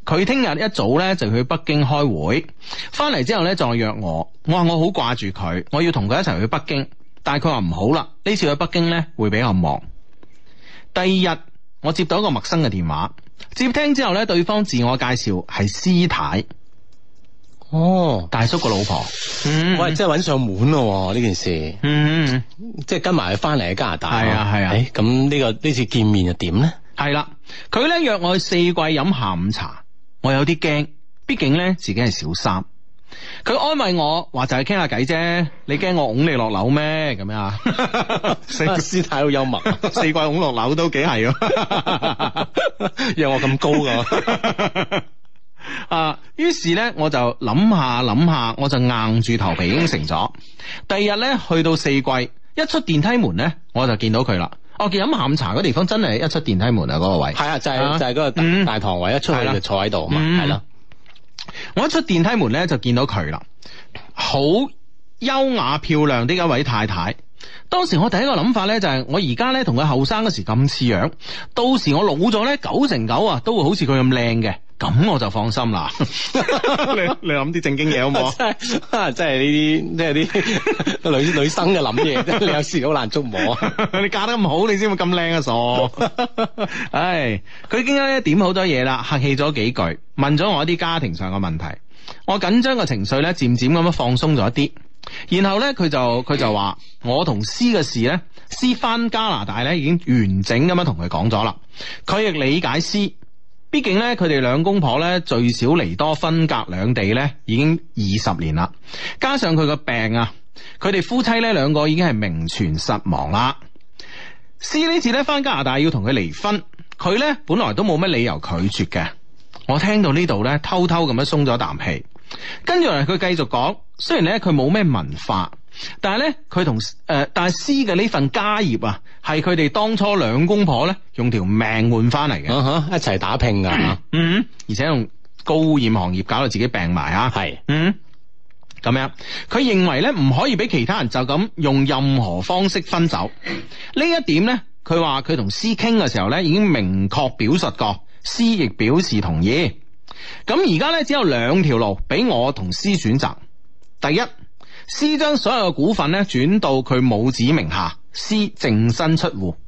佢聽日一早咧就去北京開會，翻嚟之後咧再約我。我話我好掛住佢，我要同佢一齊去北京，但係佢話唔好啦，呢次去北京咧會比較忙。第二日我接到一個陌生嘅電話，接聽之後咧，對方自我介紹係師太。 哦， 大叔個老婆，嗯， 喂，即係揾上門咯呢件事， 嗯， 即係跟埋佢翻嚟喺加拿大， 係啊係啊， 誒，咁呢個呢次見面又點咧？ 係啦，佢咧約我去四季飲下午茶，我有啲驚，畢竟咧自己係小三。佢安慰我話就係傾下偈啫，你驚我拱你落樓咩？咁樣啊， 師太好幽默， 四季拱落樓都幾係喎， 讓我咁高噶。 啊，於是咧我就諗下諗下，我就硬住頭皮應承咗。第二日咧去到四季，一出電梯門咧，我就見到佢啦。我見飲下午茶嗰地方真係一出電梯門啊，嗰個位係啊， 就係、是、就係、是、嗰個大、嗯、大堂位，一出去就坐喺度啊嘛，係啦、嗯。 我一出電梯門咧就見到佢啦，好優雅漂亮的一位太太。當時我第一個諗法咧就係、是、我而家咧同佢後生嗰時咁似樣，到時我老咗咧九成九啊都會好似佢咁靚嘅。咁我就放心啦。你你諗啲正經嘢好唔好？ 真係真係呢啲，即係啲女女生嘅諗嘢，你有時好難捉摸啊！ 你嫁得咁好，你先會咁靚啊傻！唉，佢已經咧點好多嘢啦，客氣咗幾句，問咗我一啲家庭上嘅問題，我緊張嘅情緒咧漸漸咁樣放鬆咗一啲。然後咧佢就佢就話我同詩嘅事咧，詩翻加拿大咧已經完整咁樣同佢講咗啦，佢亦理解詩。畢竟咧，佢哋兩公婆咧最少離多分隔兩地咧，已經二十年啦。加上佢個病啊，佢哋夫妻咧兩個已經係名存實亡啦。C 呢次咧翻加拿大要同佢離婚，佢咧本來都冇乜理由拒絕嘅。我聽到呢度咧，偷偷咁樣鬆咗啖氣。跟住嚟佢繼續講，雖然咧佢冇咩文化，但係咧佢同誒，但係 C 嘅呢份家業啊，係佢哋當初兩公婆咧用條命換翻嚟嘅， uh huh, 一齊打拼噶， 嗯，而且用高污染行業搞到自己病埋啊，係是，嗯，咁樣，佢認為咧唔可以俾其他人就咁用任何方式分走，呢一點咧，佢話佢同 C 傾嘅時候咧已經明確表述過 ，C 亦表示同意。咁而家咧只有兩條路俾我同 C 選擇，第一。C 將所有嘅股份咧轉到佢母子名下 ，C 淨身出戶。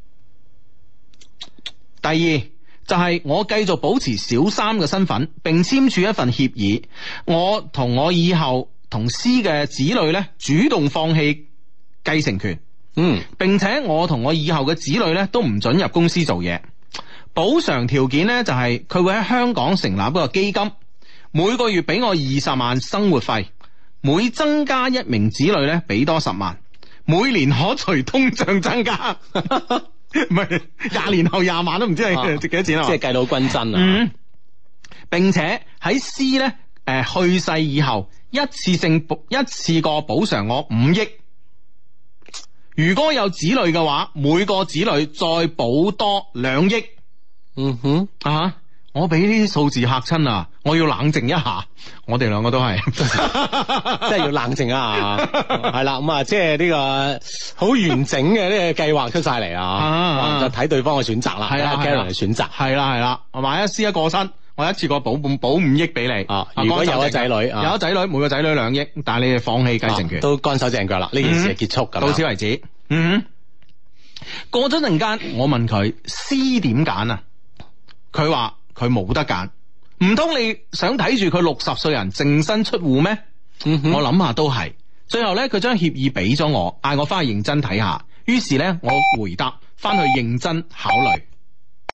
第二就係、是、我繼續保持小三嘅身份，並簽署一份協議，我同我以後同 C 嘅子女咧主動放棄繼承權，嗯，並且我同我以後嘅子女咧都唔准入公司做嘢。補償條件咧就係、是、佢會喺香港成立一個基金，每個月俾我二十萬生活費。每增加一名子女咧，俾多十萬，每年可隨通脹增加，唔係廿年後廿萬都唔知係值幾多錢啊！ 即係計到均真啊！ 嗯，並且喺 C 咧，誒、呃、去世以後，一次性一次過補償我五億。如果有子女嘅話，每個子女再補多兩億。 嗯哼啊！我俾呢啲數字嚇親啊！我要冷靜一下，我哋兩個都係， 真係要冷靜啊！係啦，咁啊，即係呢個好完整嘅呢個計劃出晒嚟啊！就睇對方嘅選擇啦，係啊 Karen 嘅選擇， 係啦係啦，萬一 C 一過身，我一次過補補補五億俾你啊！如果有咗仔女，有咗仔女，每個仔女兩億，但係你哋放棄繼承權， 都乾手淨腳啦，呢件事係結束咁， 到此為止。嗯，過咗陣間，我問佢 C 點揀啊？佢話。佢冇得揀，唔通你想睇住佢六十歲人淨身出戶咩？嗯、哼我諗下都係。最後咧，佢將協議俾咗我，嗌我翻去認真睇下。於是咧，我回答翻去認真考慮。